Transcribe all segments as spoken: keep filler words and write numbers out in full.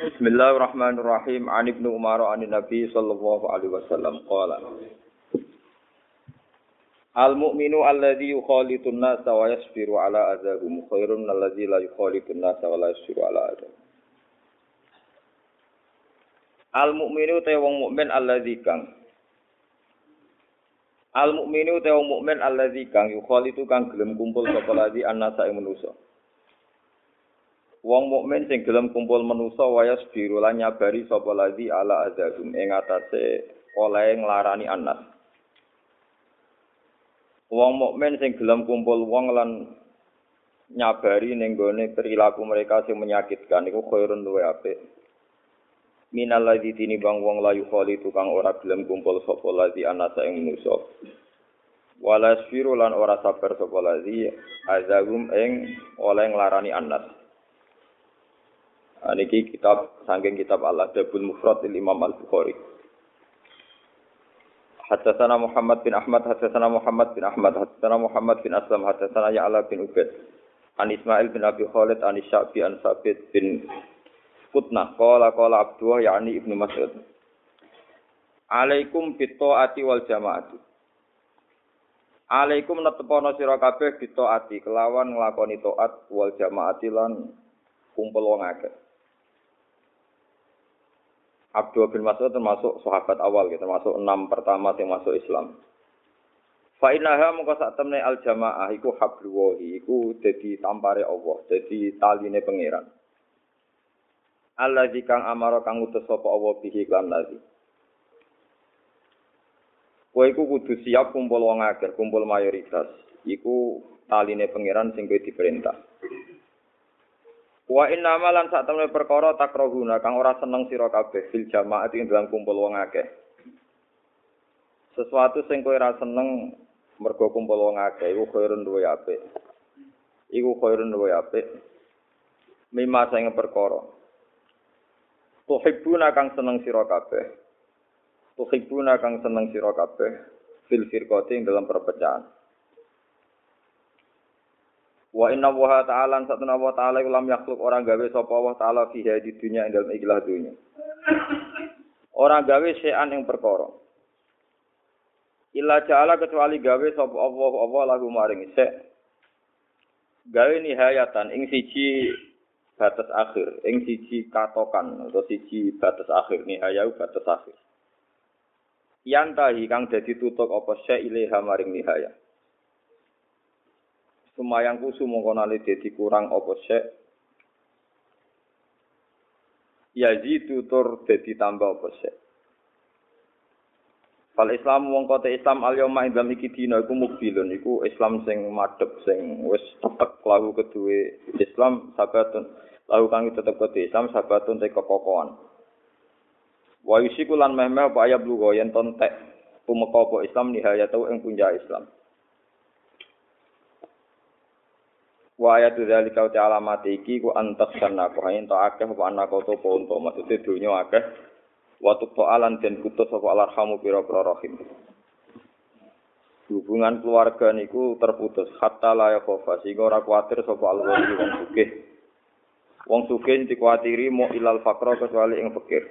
Bismillahirrahmanirrahim. An Ibnu Umar an Nabi sallallahu alaihi wasallam qala Al mu'minu alladzi yukhalitun nasa wa yasbiru ala adzahum khairun min alladzi la yukhalitun nasa wa la yasbiru ala adzahum. Al mu'minu te wong mukmin alladzi kang Al mu'minu te wong mukmin alladzi kang yukhalitu kang gelem kumpul sapa ladzi annasa ing manusa. Wong mukmin sing gelem kumpul manusa wayas biru lan nyabari sapa ladzi ala adzahum ing atase oleh nglarani anas. Wong mukmin sing gelem kumpul wong lan nyabari ning gone perilaku mereka sing menyakitkan iku khairun luwe apik. Minal ladzi tinimbang wong layu khali tukang ora gelem kumpul sapa ladzi anasa ing manusa. Wala sfiru lan ora sabar sapa ladzi azagum ing oleh nglarani anas. Niki kitab saking kitab Al-Adabul Mufrad Imam Al-Bukhari. Haddatsana Muhammad bin Ahmad, haddatsana Muhammad bin Ahmad, haddatsana Muhammad bin Aslam, haddatsana Ya'la bin Ubaid. An Ismail bin Abi Khalid an Sya'bi an Sabit bin Qutnah qala qala Abdullah yakni Ibnu Mas'ud. Alaikum bitaati wal jamaati. Alaikum netepono sira kabeh bitaati kelawan nglakoni taat wal jamaati lan kumpul wong akeh. Abdullah bin Mas'ud termasuk sahabat awal, gitu, termasuk enam pertama yang masuk Islam. Fa innaha mongko sak temne al jamaah iku habluwahi iku dadi tampare Allah, dadi taline pangeran. Allazi kang amara kang utus sapa Allah bihi lan nabi. Kowe iku kudu siap kumpul wong akeh, kumpul mayoritas. Iku taline pangeran sing kowe diperintah. Wa inna malan sak temne perkara takrohuna kang ora seneng sira kabeh fil jamaah ing dalam kumpul wong akeh. Sesuatu sing kowe ora seneng mergo kumpul wong akeh iku khairun luwe apik. Iku khairun luwe apik. Mimma sing perkara. Tuhibbuna kang seneng sira kabeh. Tuhibbuna kang seneng sira kabeh fil firqati ing dalam perpecahan. Wa inna wa ta'ala satuna wa ta'ala ulam yakhluk orang gawe sapa wa ta'ala fi hadi dunya ing dalem ikhlas dunya. Orang gawe sean ing perkara. Illa ja'ala kecuali gawe sapa Allah Allah lagu maring sek. Gawe nihayatan ing siji batas akhir, ing siji katokan atau siji batas akhir nihayau batas akhir. Yantahi kang dadi tutuk apa sek ilaha maring nihaya. Sumayang kusu mongko nali dadi kurang apa sek yazidu tur dadi tambah apa sek. Fal Islam mongko te Islam al yauma indam iki dina iku mukbilun iku Islam sing madhep sing wis tetek lahu keduwe Islam sabatun lahu kang tetep kedhe Islam sabatun te kekokohan. Wa yusiku lan meh-meh apa ayat lugo yen tontek tumeka apa Islam nihayatu ing puncak Islam. Wa ayatu dzalika wa alamat iki ku antas sana ku ento akeh apa anak to ponto maksude dunya akeh wa tu'alan den putus apa alarhamu pira-pira rahim. Hubungan keluarga niku terputus hatta la yakhofa sehingga ora kuwatir sapa alwali wong sugih. Wong sugih dikuatiri mo ilal faqra kecuali ing fakir.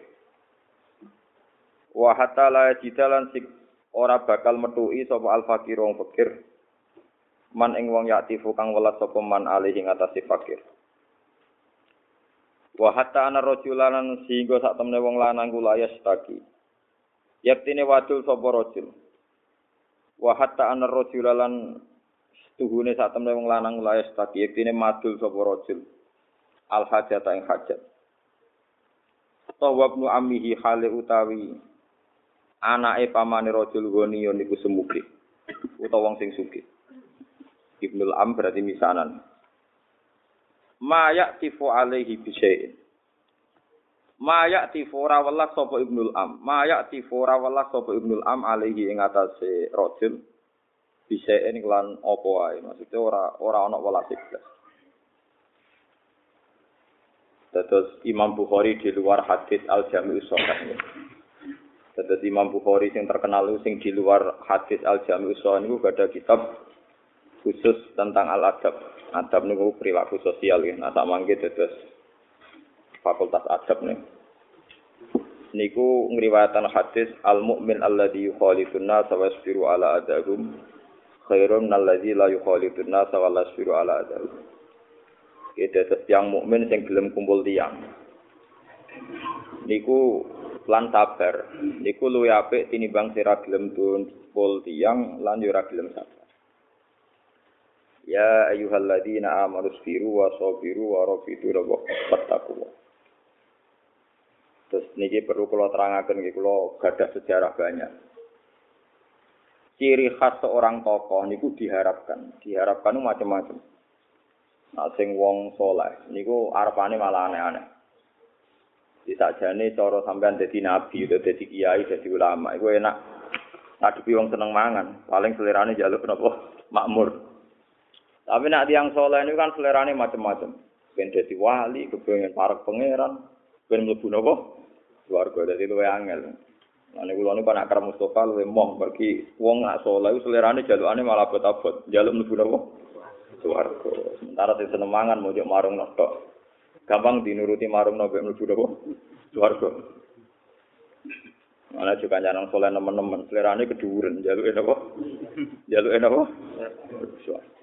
Wa hatta la jidalan sik ora bakal metuki sapa al fakir wong fakir. Man ing wong yaktifu kang welas sapa man alih ing atase fakir. Wa hatta ana rajulanan sehingga sak temne wong lanang kula yastaki. Yaktine wadul sapa rajul. Wa hatta ana rajulalan tuhune sak temne wong lanang kula yastaki yaktine madul sapa rajul. Al hajata ing hajat. Tawabnu ammihi hale utawi anake pamane rajul goni niku semuge. Utawa wong sing sugih. Ibnul Am berarti misanan. Ma ya'tifu alaihi bisyai'in. Ma ya'tifu ora welas sapa Ibnul Am. Ma ya'tifu ora welas sapa Ibnul Am alaihi ing atase rajul bisyai'in lan apa wae. Maksude ora ora ana welas iblis. Terus Imam Bukhari di luar hadis Al-Jami'us Shahih. Terus Imam Bukhari sing terkenal sing di luar hadis Al-Jami'us Shahih niku ada kitab khusus tentang al-adab. Adab niku perilaku sosial ya. Nah samangke terus fakultas adab nih. Niku ngriwayatan hadis al mukmin alladzi yukhalifun nas wa yasbiru ala adahum khairun alladzi la yukhalifun nas wa la yasbiru ala adahum. Kita yang mukmin sing gelem kumpul tiyang. Niku lan sabar. Niku luwih apik tinimbang sira gelem kumpul tiyang lan yo ora gelem sabar. Ya ayyuhalladzina amanu sabiru wa sabiru wa rabitu wattaqullah. Terus niki perlu kula terangaken nggih kula gadah sejarah banyak. Ciri khas seorang tokoh niku diharapkan, diharapkan macam-macam. Nah sing wong saleh niku arepane malah aneh-aneh. Disajane cara sampean dadi nabi, dadi kiai, dadi ulama, iku enak ngadepi wong seneng mangan, paling selerane njaluk napa makmur. Tapi nek tiyang saleh niku kan selerane macam-macam. Ben dadi wali, kepengin parek pangeran, ben mlebu napa swarga dadi luwe angel. Lah niku kula niku anak Kar Mustofa luwe moh pergi wong nak saleh selerane jalukane malah abot-abot, njaluk mlebu napa swarga. Sementara sing seneng mangan mojok marung tok. Gampang dinuruti marung napa mlebu napa swarga. Ana juga nyanang saleh nemen-nemen selerane keduren njaluke napa? Njaluke napa? Swarga.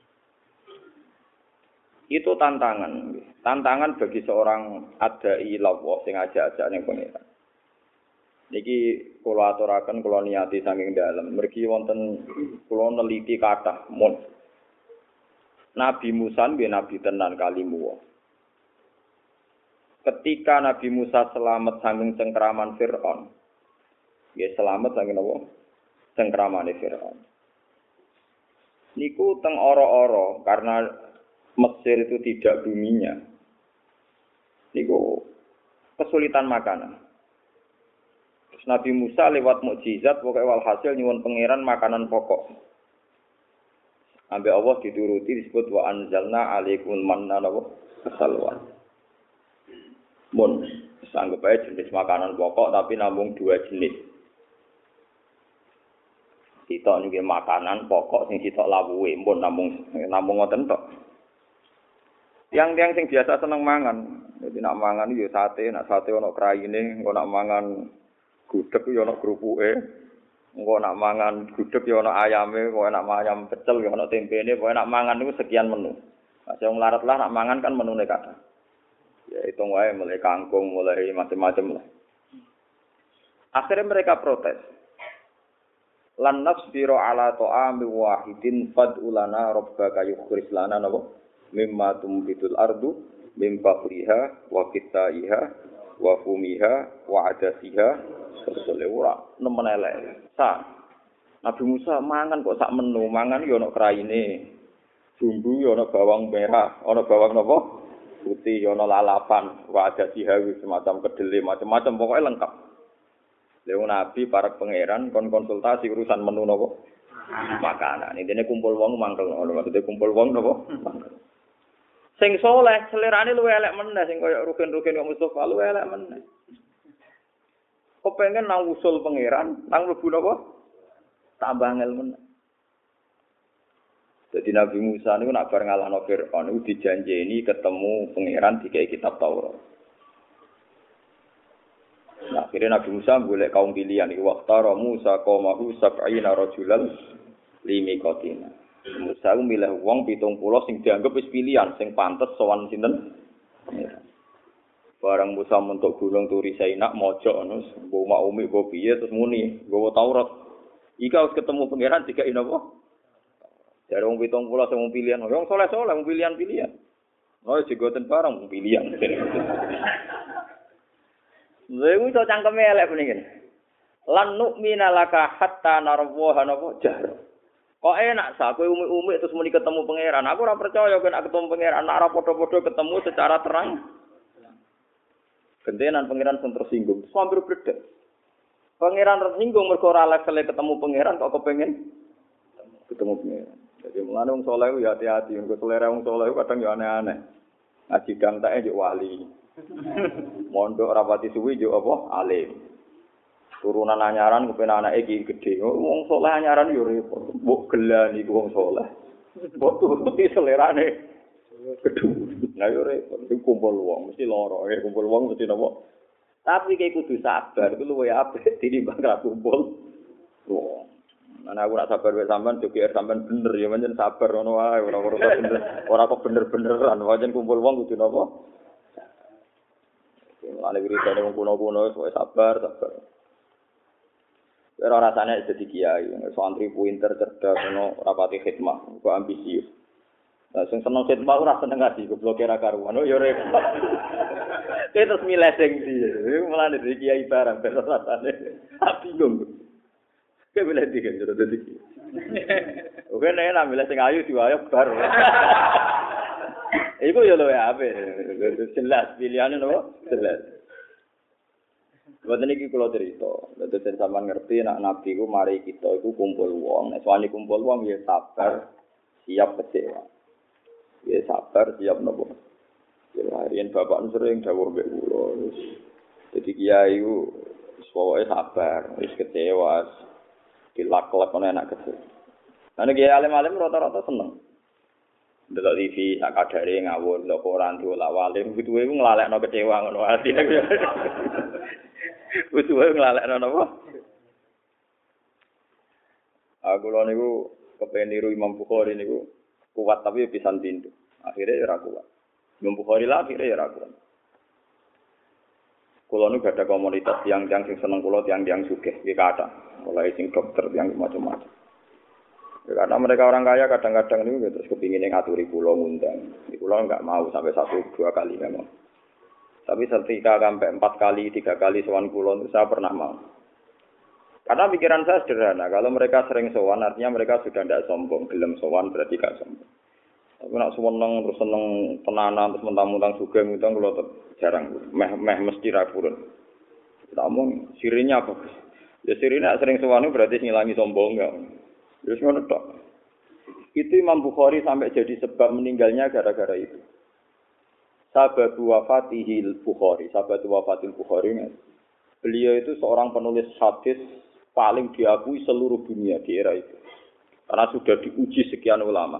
Itu tantangan, tantangan bagi seorang adai lawa sing ajak-ajak ning pangeran. Niki kula aturaken kula niati saking dalem. Mergi wonten kula neliti kathah mun. Nabi Musa nggih nabi tenan kalimu. Ketika Nabi Musa selamat saking cengkraman Firaun. Nggih selamat saking napa? Cengkramane Firaun. Niku teng ora-ora karena Mesir itu tidak buminya. Niku kesulitan makanan. Terus Nabi Musa lewat mukjizat pokoknya walhasil nyuwun pangeran makanan pokok. Ambek Allah dituruti disebut wa anzalna alaikumul manna wa salwa. Mun sanggep ae jenis makanan pokok tapi namung dua jenis. Sitok niki makanan pokok sing sitok lawuhe, mun namung namung ngoten tok. Yang-yang sing biasa seneng mangan, jadi nak mangan yo sate, nak sate ono kraine, engko nak mangan gudeg yo ono krupuke, engko nak mangan gudeg yo ono ayame, engko nak ayam pecel yo ono tempene, pokoke nak mangan niku sekian menu. Nah, sing melarat lah nak mangan kan menune kathah. Ya hitung wae mulai kangkung, mulai macam-macam lah. Akhirnya mereka protes. Lan nasbiru ala ta'ami wahidin fad'ulana rabbaka yukhrij lana napa? Mimma tumbitul ardu mim fakriha wa kitaiha wa fumiha wa adasiha ora nemen elek. Sa Nabi Musa mangan kok sak menu, mangan yo ana kraine. Bumbu yo ana bawang merah, ana bawang napa? Putih yo ana lalapan, wa adasiha semacam kedele, macam-macam pokoknya lengkap. Lha Nabi para pangeran kon konsultasi urusan menu napa? Makanan. Intine kumpul wong mangkel ngono, maksudnya kumpul wong napa? Mangkel. Sing saleh selerane luwih elek meneh sing kaya rugen-rugen kok Mustofa luwih elek meneh. Kok pengen nang usul pangeran, nang mlebu napa? Tambah angel meneh. Jadi Nabi Musa niku nak bar ngalahno Firaun niku dijanjeni ketemu pangeran dikai kitab Taurat. Nah, akhirnya Nabi Musa golek kaum pilihan iki waqtara Musa qaumahu sab'ina rajulan limiqatina. Musa milih wong pitung puluh sing dianggep wis pilihan sing pantes sowan sinten. Barang Musa mentuk gunung Turi Saina mojok ngono, mbok mak umi mbok piye terus muni, nggawa Taurat. Iki wis ketemu pangeran dikai napa? Dari wong pitung puluh sing pilihan, wong saleh-saleh wong pilihan-pilihan. Oh, jigoten barang wong pilihan. Lha iso cangkeme elek puniki. Lan nu'mina laka hatta narwaha napa jar. Kok enak sa kowe umi-umi terus muni ketemu pangeran. Aku ora percaya kowe nek ketemu pangeran, nek ora padha-padha ketemu secara terang. Gentenan pangeran sing tersinggung, sambil bledek. Pangeran tersinggung mergo ora level ketemu pangeran kok kepengin ketemu pangeran. Jadi mulane wong saleh ya hati-hati, engko selera wong saleh kadang ya aneh-aneh. Ngaji dang tak yo wali. Mondok rapati suwi yo apa alim. Turunan anyaran kepen anake iki gedhe. Wong saleh anyaran yo repot. Mbok gelan iku wong saleh. Mbok turuti selerane Kedua. Nah yo repot, iku kumpul wong mesti lara, ya kumpul wong mesti napa. Tapi kayak kudu sabar, itu luwih apik tinimbang ra kumpul wong. Ana aku nak sabar wae sampean jogeer sampean bener ya pancen sabar ngono wae ora ora bener ora kok bener-beneran pancen kumpul wong kudu napa. Mulane wiridane wong kuno-kuno wis sabar sabar. Ora rasane dadi kiai, santri pinter cerdas ono rapati khidmah, kok ambisius. Lah sing seneng khidmah ora seneng ngaji, goblok ora karuan. Oh ya repot. Terus milih sing ndi. Mulane dadi kiai barang ben rasane. Tak bingung. Kayak milih ndi kan dadi kiai. Oke nek nak milih sing ayu diwayok bar. Iku yo lho ya ape. Jelas pilihane nopo? Jelas. Boten iki kula cerita, dadi sampean ngerti nek nabi ku mari kita iku kumpul wong, nek suwani kumpul wong ya sabar, siap kecewa. Ya sabar, siap nopo. Ya harian bapak sering dawuh mbek kula. Dadi kiai ku pokoke sabar, wis kecewa. Dilak-lak ana enak kecil. Ana kiai alim-alim rata-rata seneng. Delok T V sak kadare ngawur lho koran diolak walim kuwi ku nglalekno kecewa ngono atine. Wis wae nglalekno napa? Aku lho niku kepen niru Imam Bukhari niku kuat tapi pisan tindu. Akhire ora kuat. Imam Bukhari lah akhire ora kuat. Kulo niku ada komunitas tiang-tiang sing seneng kulo tiang-tiang sugih, iki kata. Mulai sing dokter tiang macam-macam. Ya, karena mereka orang kaya kadang-kadang niku terus kepingin ngaturi kulo ngundang. Kulo enggak mau sampai satu dua kali memang. Tapi ketika sampai empat kali, tiga kali sowan kulon itu saya pernah mau. Karena pikiran saya sederhana, kalau mereka sering sowan artinya mereka sudah tidak sombong, gelem sowan berarti gak sombong. Tapi nak seneng terus seneng tenanan terus mentang-mentang juga ngutang kalau jarang, meh meh mesti ra purun. Namun sirinya apa? Ya sirinya sering sowan itu berarti ngilangi sombong enggak. Terus ngono tok. Itu Imam Bukhari sampai jadi sebab meninggalnya gara-gara itu. Sahabat wafatihil Bukhari, sahabat wafatil Bukhari, beliau itu seorang penulis hadis paling diakui seluruh dunia di era itu. Karena sudah diuji sekian ulama.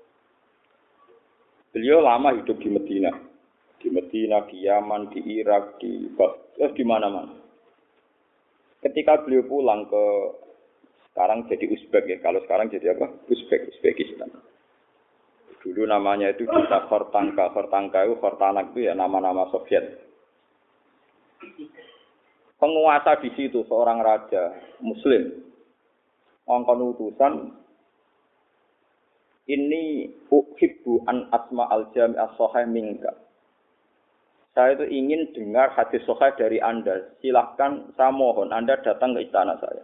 Beliau lama hidup di Medina. Di Medina, di Yaman, di Irak, di eh, di mana-mana. Ketika beliau pulang ke, sekarang jadi Uzbek ya, kalau sekarang jadi apa? Uzbek, Uzbekistan. Dulu namanya itu kita Khortanka, Khortanka itu Khortanak itu ya nama-nama Soviet. Penguasa di situ seorang raja Muslim, ngongkon utusan ini uhibbu an asma al jami as-sahih minka. Saya itu ingin dengar hadis sahih dari Anda. Silahkan saya mohon Anda datang ke istana saya.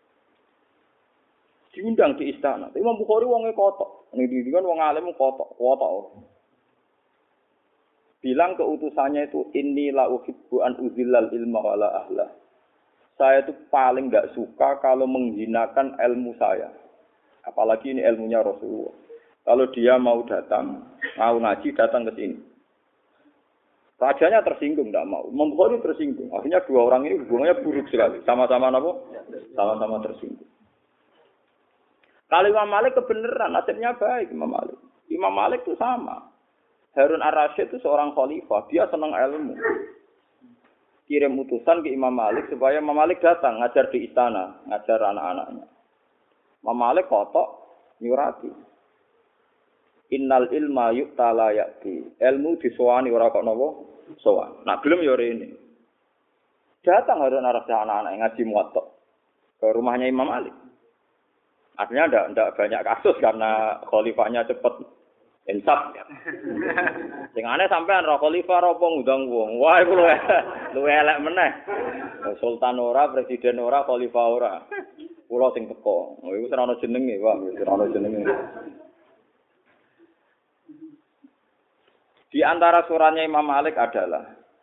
Diundang di istana. Imam Bukhari wonge kotok. Ini kan wong alim kotok, kotok. Bilang ke utusannya itu inni la uhibbu an uzillal ilma wala ahla. Saya itu paling enggak suka kalau menghinakan ilmu saya. Apalagi ini ilmunya Rasulullah. Kalau dia mau datang, mau ngaji datang ke sini. Rajanya tersinggung enggak mau. Imam Bukhari tersinggung. Akhirnya dua orang ini hubungannya buruk sekali. Sama-sama apa? Sama-sama tersinggung. Kalau Imam Malik kebenaran, nasibnya baik Imam Malik. Imam Malik itu sama. Harun ar-Rasyid itu seorang khalifah, dia senang ilmu. Kirim utusan ke Imam Malik supaya Imam Malik datang ngajar di istana, ngajar anak-anaknya. Imam Malik kotok nyurati. Innal ilma yu'ta la ya'ti. Ilmu disowani ora kok napa? Sowan. Nah, belum yo rene. Datang Harun ar-Rasyid anak-anak ngaji muwatta ke rumahnya Imam Malik. Artinya tidak tidak banyak kasus karena khalifahnya cepat insaf. Sing aneh sampean ro khalifah ro ngundang wong. Wah iku luwe luwe elek meneh. Sultan ora, presiden ora, khalifah ora. Kula sing teko. Oh iku ora ono jenenge, Pak. Ora ono jenenge. Di antara suratnya Imam Malik adalah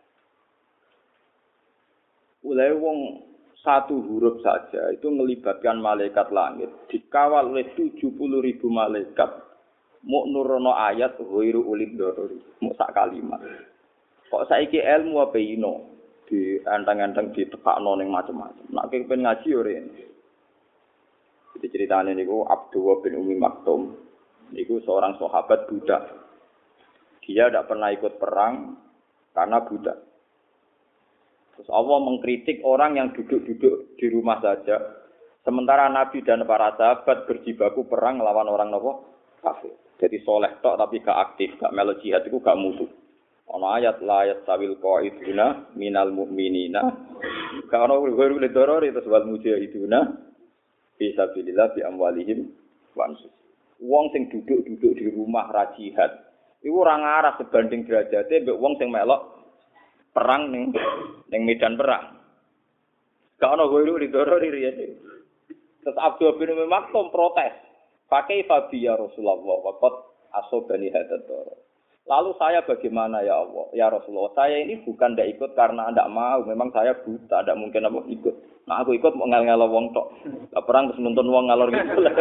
ulai wong satu huruf saja itu melibatkan malaikat langit dikawal oleh tujuh puluh ribu malaikat mau nurono ayat ghairu ulid dorori mau sak kalimat kok saiki ilmu apa ino di antang-antang ditekakno ning macam-macam nek kepen ngaji yo rene iki ceritane niku Abdullah bin Umi Maktum niku seorang sahabat budak Dia tidak pernah ikut perang karena buta. Terus Allah mengkritik orang yang duduk-duduk di rumah saja. Sementara Nabi dan para sahabat berjibaku perang lawan orang nopo kafir. Jadi soleh tok tapi gak aktif, gak melo jihad itu gak musuh. Ono ayat la yastawil qaiduna minal mu'minina. Gak ono guru le doror itu sebab mujahiduna fi sabilillah bi amwalihim wa anfusihim. Wong sing duduk-duduk di rumah ra jihad, iku ora ngarah sebanding derajate mbek wong sing melok perang ning ning medan perang. Gak ono guru le doror riyen. Terus Abdul bin Maktum protes. Pakai fabi ya Rasulullah waqad asobani hadat. Lalu saya bagaimana ya Allah? Ya Rasulullah, saya ini bukan tidak ikut karena tidak mau. Memang saya buta, tidak mungkin apa ikut. Nah aku ikut mau ngel-ngelo wong tok. Lah perang terus nuntun wong ngalor gitu lah.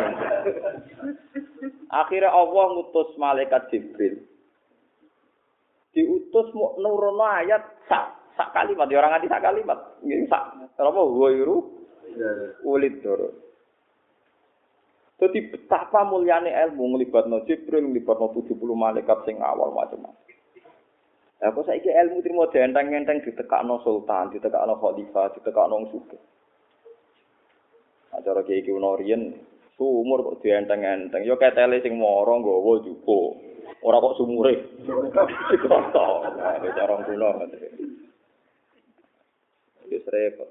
Akhirnya Allah ngutus malaikat Jibril. Diutus mau nurono ayat sak sak kalimat. Ya orang nganti sak kalimat. Ini sak. Apa ghairu ulid doro. Jadi betapa mulyane ilmu nglibatno Jibril, nglibatno tujuh puluh malaikat sing awal macam-macam. Lah kok saiki ilmu trimo enteng-enteng ditekakno sultan, ditekakno khalifah, ditekakno wong sugih. Acara kiai ki ono riyen sumur kok dienteng-enteng. Ya ketele sing mara nggawa jupo. Ora kok sumure. Dikoto. Nah, cara kuno. Wis repot.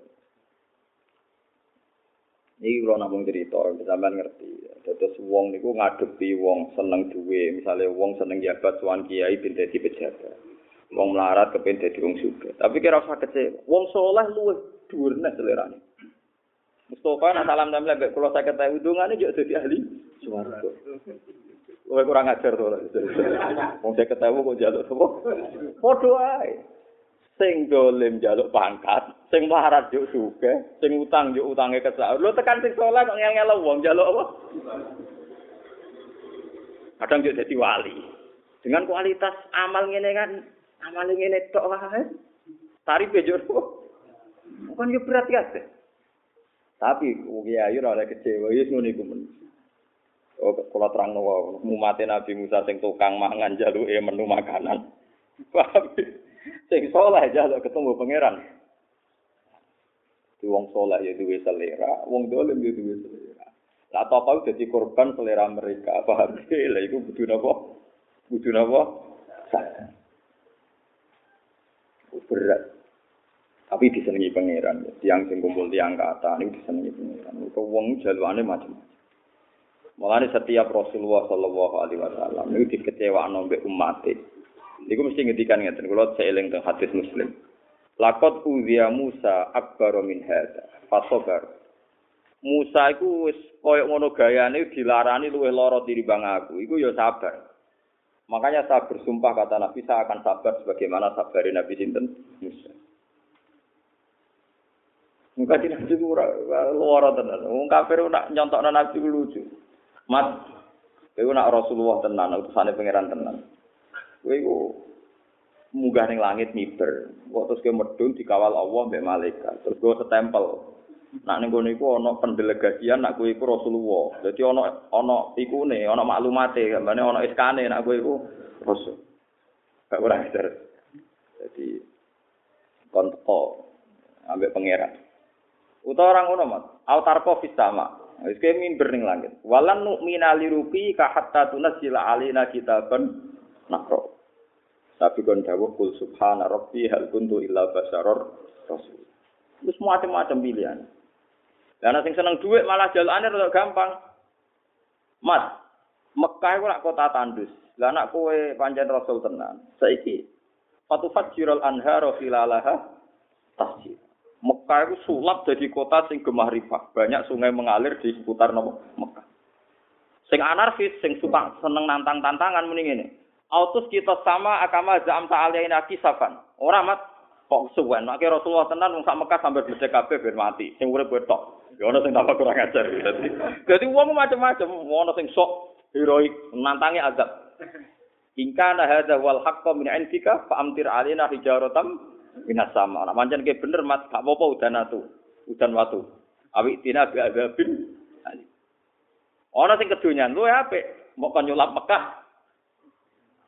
Iki kula namung cerita, sampean ngerti. Dados wong niku ngadepi wong seneng duwe, misale wong seneng jabat suwan kiai ben dadi pejabat. Wong melarat kepen dadi wong sugih. Tapi kira usah kecewa. Wong saleh luwih dhuwur nek selerane. Mustofa nak salam damel mbek kula sakit tahu dungane yo dadi ahli swarga. Kowe kurang ajar to. Wong sakit tahu kok njaluk apa? Padha ae. Sing dolim njaluk pangkat, sing melarat yo sugih, sing utang yo utange kesak. Lho tekan sing saleh kok ngel-ngel wong njaluk apa? Kadang yo dadi wali. Dengan kualitas amal ngene kan, amal ngene tok wae. Tarife yo. Bukan yo berat ya. Tapi kiai ora kecewa, wis ngono iku men. Oh, kula terangno wae, umate Nabi Musa sing tukang mangan jaluke menu makanan. Paham? Sing saleh jaluk ketemu pangeran. Di wong saleh ya duwe selera, wong dolim ya duwe selera. Lah apa dadi korban selera mereka, paham? Lah iku kudu napa? Kudu napa? Berat. Tapi disenengi pangeran, tiang sing kumpul tiang kata niku disenengi pangeran. Kok wong jalukane macam-macam. Mulane setiap Rasulullah sallallahu alaihi wasallam niku dikecewakno mbek umate. Iku mesti ngendikan ngeten, kula seeling teng hadis Muslim. Laqad uziya Musa akbar min hadza, fasabar. Musa iku wis koyo ngono gayane dilarani luwih lara tinimbang aku. Iku ya sabar. Makanya saya bersumpah kata Nabi saya akan sabar sebagaimana sabarin Nabi sinten Musa. Muka di Nabi ku lara tenan. Wong kafir nak nyontokno Nabi ku lucu. Mat, kowe nak Rasulullah tenan, utusane pangeran tenan. Kowe iku munggah ning langit miber. Kok terus kowe medhun dikawal Allah mbek malaikat. Terus kowe setempel. Nak ning kono iku ana pendelegasian nak kowe iku Rasulullah. Dadi ana ana ikune, ana maklumate, gambane ana iskane nak kowe iku rasul. Gak ora ajar. Dadi konto ambek pangeran. Utawa orang ngono, Mas. Autarko fis sama. Wis kowe mimber ning langit. Walan nu'mina liruqi ka hatta tunazzila alaina kitaban nakra. Tapi kon dawuh kul subhana rabbi hal kuntu illa basaror rasul. Wis macam-macam pilihan. Lah sing seneng dhuwit malah jalane rada gampang. Mas, Mekah iku lak kota tandus. Lah anak kowe pancen rasul tenan. Saiki fatufajjirul anhara khilalaha tasjid. Mekah itu sulap jadi kota sing gemah rifah. Banyak sungai mengalir di seputar Mekah. Sing anarkis, sing suka seneng nantang-tantangan mending ngene. Autus kita sama agama zam ta'alaina kisafan. Ora mat kok suwen. Nek Rasulullah tenan wong sak Mekah sampai bledek kabeh ben mati. Sing urip tok. Ya ana sing tambah kurang ajar. Dadi dadi wong macam-macam. Ana sing sok heroik nantangi azab. Ingkana hadza wal haqqu min indika fa amtir alaina hijaratam minas sama. Nek pancen ki bener Mas, gak apa-apa udan atu. Udan watu. Awi tina bi azabin. Ana sing kedonyan luwe apik, mok kon nyulap Mekah.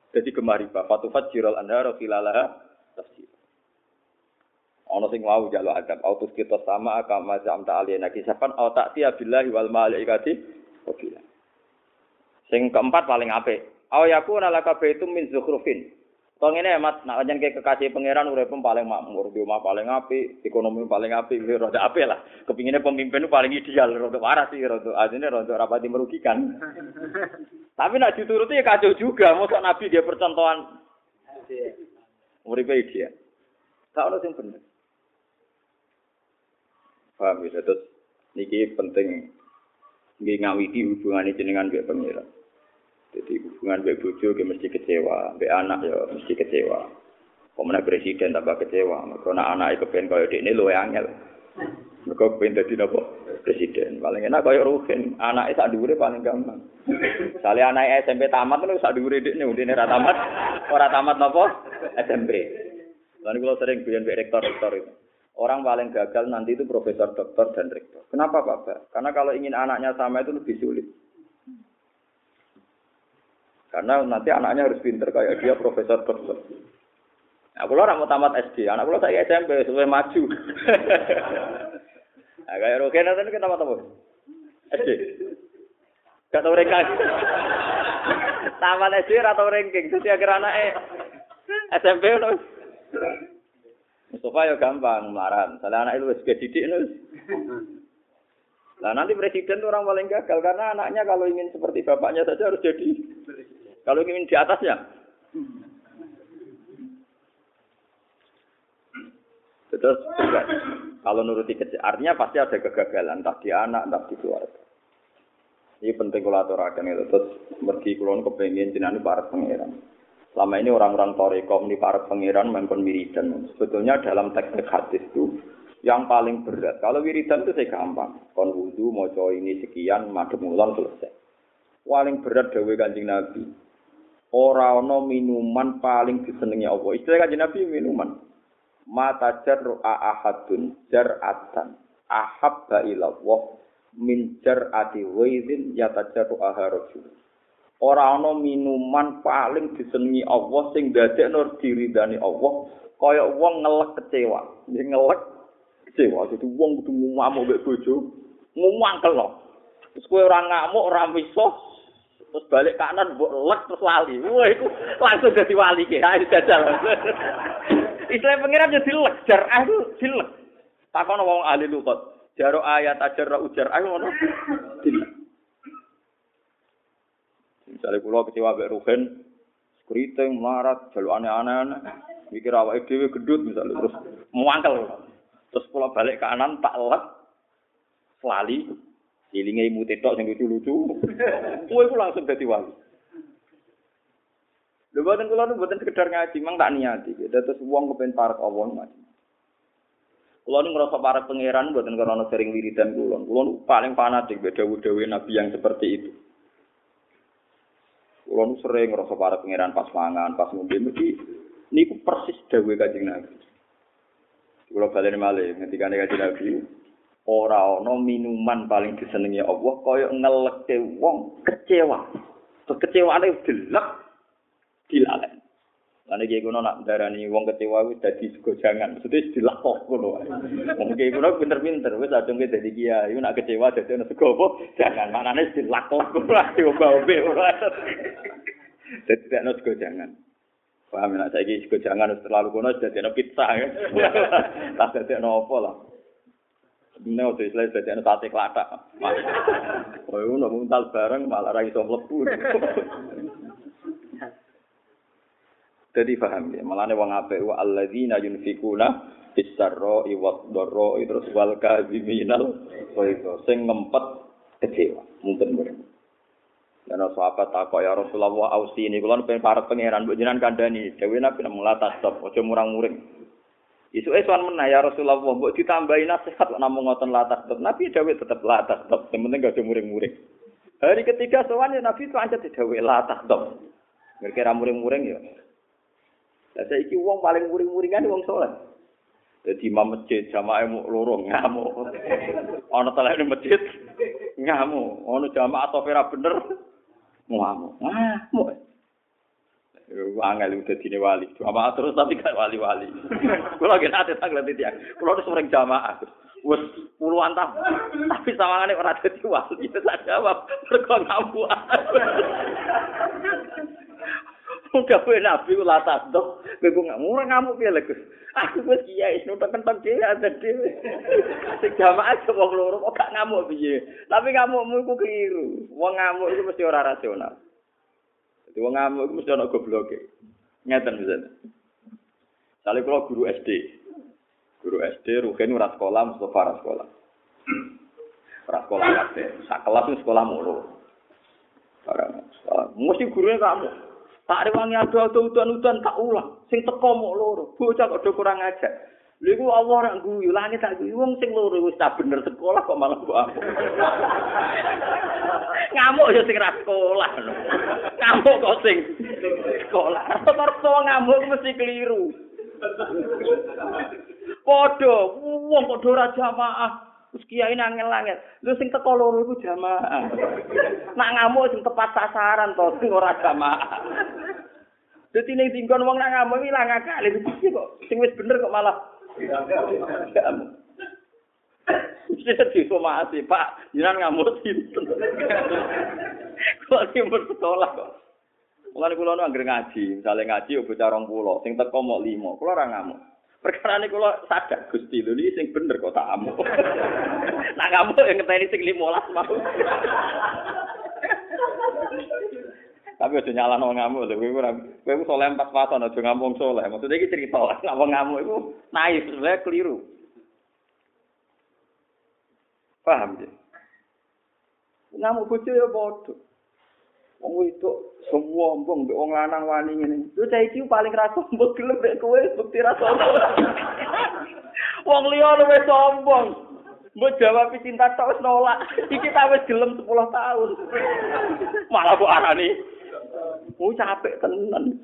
Jadi gemar riba. Fatufat jirol anhara filalaha tafsir. Ono sing wau jaluk adab autus kita sama kama zamta aliyana kisapan au ta'ti billahi wal malaikati qabila. Sing keempat paling apik. Au yakuna laka baitum min zukhrufin. Tong ngene Mas, nek njen ke kekasih pangeran urip paling makmur, di omah paling apik, ekonomi paling apik, rada apik lah. Kepingine pemimpin itu paling ideal, rada waras sih, rada ajine rada rapati merugikan. Tapi nek dituruti ya kacau juga, mosok nabi dia percontohan. Uripe dia. Tak ono sing bener. Paham ya, terus niki penting nggih ngawiti hubungane jenengan mbek pangeran. Jadi hubungan mbek bojo ge mesti kecewa, mbek anak ya mesti kecewa. Pemenang presiden tambah kecewa, mergo anak anake kepen koyo dekne luwe angel. Mergo kepen dadi napa presiden. Paling enak koyo Ruhin, anake sak dhuwure paling gampang. Sale anake S M P tamat lho sak dhuwure dekne, ndene ora tamat, ora tamat napa S M P. Lan kula sering biyen mbek rektor-rektor itu. Orang paling gagal nanti itu profesor, doktor, dan rektor. Kenapa, Pak? Karena kalau ingin anaknya sama itu lebih sulit. Karena nanti anaknya harus pinter kayak dia profesor, doktor. Nah, kalau orang mau tamat S D, anak kalau saya S M P, supaya maju. Nah, kayak Rogen nanti kan tamat apa? S D. Gak tau ranking. Tamat S D atau ranking. Jadi akhir anaknya S M P loh. Mustafa ya gampang melaran. Salah anak itu wis didik nus. Lah nanti presiden itu orang paling gagal karena anaknya kalau ingin seperti bapaknya saja harus jadi. Kalau ingin di atasnya. Terus juga kalau nuruti kecil, artinya pasti ada kegagalan entah di anak entah di keluarga. Ini penting kalau aturakan itu. Terus mergi kulon kepengen jenengan para pangeran. Selama ini orang-orang Torekom di para pangeran mempun wiridan. Sebetulnya dalam teks-teks hadis itu yang paling berat. Kalau wiridan itu saya gampang. Kon wudu, moco ini sekian, madhep mulan selesai. Paling berat dawuh Kanjeng Nabi. Ora ana minuman paling disenengi Allah. Istilah Kanjeng Nabi minuman. Mata jar'a ahadun jar'atan ahabba ilallah min jar'ati waidin yatajarru aharajul. Ora ana minuman paling disenengi Allah sing dadekno diridani Allah kaya wong ngelek kecewa. Nggih ngelek kecewa. Dadi wong kudu ngamuk mbek bojo, ngumangkel. Terus kowe ora ngamuk, ora miso, terus balik kanan mbok lek terus wali. Wah iku langsung dadi wali ki. Ha jajal. Istilah pengiran yo dilek, jar aku dilek. Takono wong ahli lugat. Jaro ayat ajar ujar aku ngono. Dilek. Misalnya kula kecewa mbek Ruhen, kriting melarat, jaluk aneh-aneh, mikir awake dhewe gendut misalnya terus muangkel. Terus kula balik kanan tak lek lali, ilinge imute tok sing lucu-lucu. Kowe iku langsung dadi wali. Lha boten kula nu boten sekedar ngaji, mang tak niati. Terus wong kepen parek Allah ngaji. Kula nu ngrasa parek pangeran boten karena sering wiridan kula. Kula nu paling fanatik mbek dawuh-dawuh Nabi yang seperti itu. Kulo nu sering ngrasa para pangeran pas mangan, pas ngombe mesti niku persis dawuh Kanjeng Nabi. Kulo baleni malih ngendikane Kanjeng Nabi, ora ana minuman paling disenengi Allah kaya ngeleke wong kecewa. Terus kecewane delek dilalen. Lan iki kuno nak darani wong kecewa wis dadi gojangan, mesti dilakok ngono wae. Wong iki kuno pinter-pinter wis adunge dadi kiai, nak kecewa dadi ana sego apa? Jangan manane dilakok ora diombe-ombe ora. Dadi ana sego jangan. Paham nek saiki sego jangan wis terlalu kuno dadi ana pizza ya. Tak dadi ana apa lah. Nek wis lek dadi ana sate klathak. Oh ngono muntal bareng malah ra iso mlebu. Jadi paham ya, malane wong apik wa alladzina yunfikuna fis-sarra'i wad-dharra'i terus wal kadhiminal ghaidha sing ngempet kecewa mungkin mrene. Lan sahabat takok ya Rasulullah ausi ini kula pengen parek pangeran mbok jenengan kandhani dewe nabi mulatas stop aja murang-muring. Isuke sowan menah ya Rasulullah mbok ditambahi nasihat namung ngoten latas stop. Nabi dewe tetep latas stop, sing penting gak muring-muring. Hari ketiga sowan ya Nabi pancet dewe latas stop. Kira-kira muring-muring ya. Lah saiki wong paling muring-muringan wong saleh. Dadi imam masjid jamaah loro ngamuk. Ana telene masjid ngamuk, ana jamaah atau ora bener ngamuk. Ngamuk. Yo angel udah dine wali. Jamaah terus tapi gak wali-wali. Kula ge nate tak ngerti ya. Kula wis sering jamaah. Wes puluhan tahun. Tapi sawangane ora dadi wali. Itu tak jawab. Mergo ngamuk. Muga kowe nabi kula tanduk. Kowe kok ngamuk ngamuk piye lho Gus. Aku wis kiai nutuk kentek dhewe ada dhewe. Sing jamaah aja wong loro kok gak ngamuk piye. Tapi ngamukmu iku keliru. Wong ngamuk iku mesti ora rasional. Jadi wong ngamuk iku mesti ana gobloke. Ngeten misalnya. Sale kula guru S D. Guru S D Ruhin ora sekolah, Mustafa ora sekolah. Ora sekolah kabeh. Sak kelas sekolah mulu. Ora sekolah. Mesti gurunya kamu. Tak rewangi ado-ado udan-udan tak ulang. Sing teko mok loro. Bocah kok do kurang ajar. Lha iku Allah rak guyu, langit tak guyu wong sing loro wis tak bener sekolah kok malah mbok aku. Ngamuk ya sing ra sekolah. Ngamuk kok sing sekolah. Rata-rata ngamuk mesti keliru. Padha wong kok do ora jamaah. Terus kiai nangel-angel. Lho sing teko loro iku jamaah. Nak ngamuk sing tepat sasaran to, sing ora jamaah. Dadi ning dinggon wong nak ngamuk ilang akal. Iki kok sing wis bener kok malah ngamuk. Wis disomasi, Pak. Jenengan ngamuk sinten. Kok sing sekolah kok. Mulane kula nu anggere ngaji, misale ngaji bocah rong puluh, sing teko mok lima. Kula ora ngamuk. Perkara ini kalau sadar Gusti lho iki sing bener kok tak amuk. Nak ngamuk yang ngeteni sing lima belas mau. Tapi aja nyalano ngamuk lho kowe ora kowe saleh empat waton aja ngamuk saleh. Maksudnya iki cerita lah ngamuk iku naif sebenarnya keliru. Paham ya? Ngamuk bojo ya padha. Wong itu semua mbong mbek wong lanang wani ngene. Lho saiki paling ra sombong gelem nek kowe bukti ra sombong. Wong liya luwih sombong. Mbok jawab cinta tok wis nolak. Iki ta wis gelem sepuluh tahun. Malah kok arani. Oh capek tenan.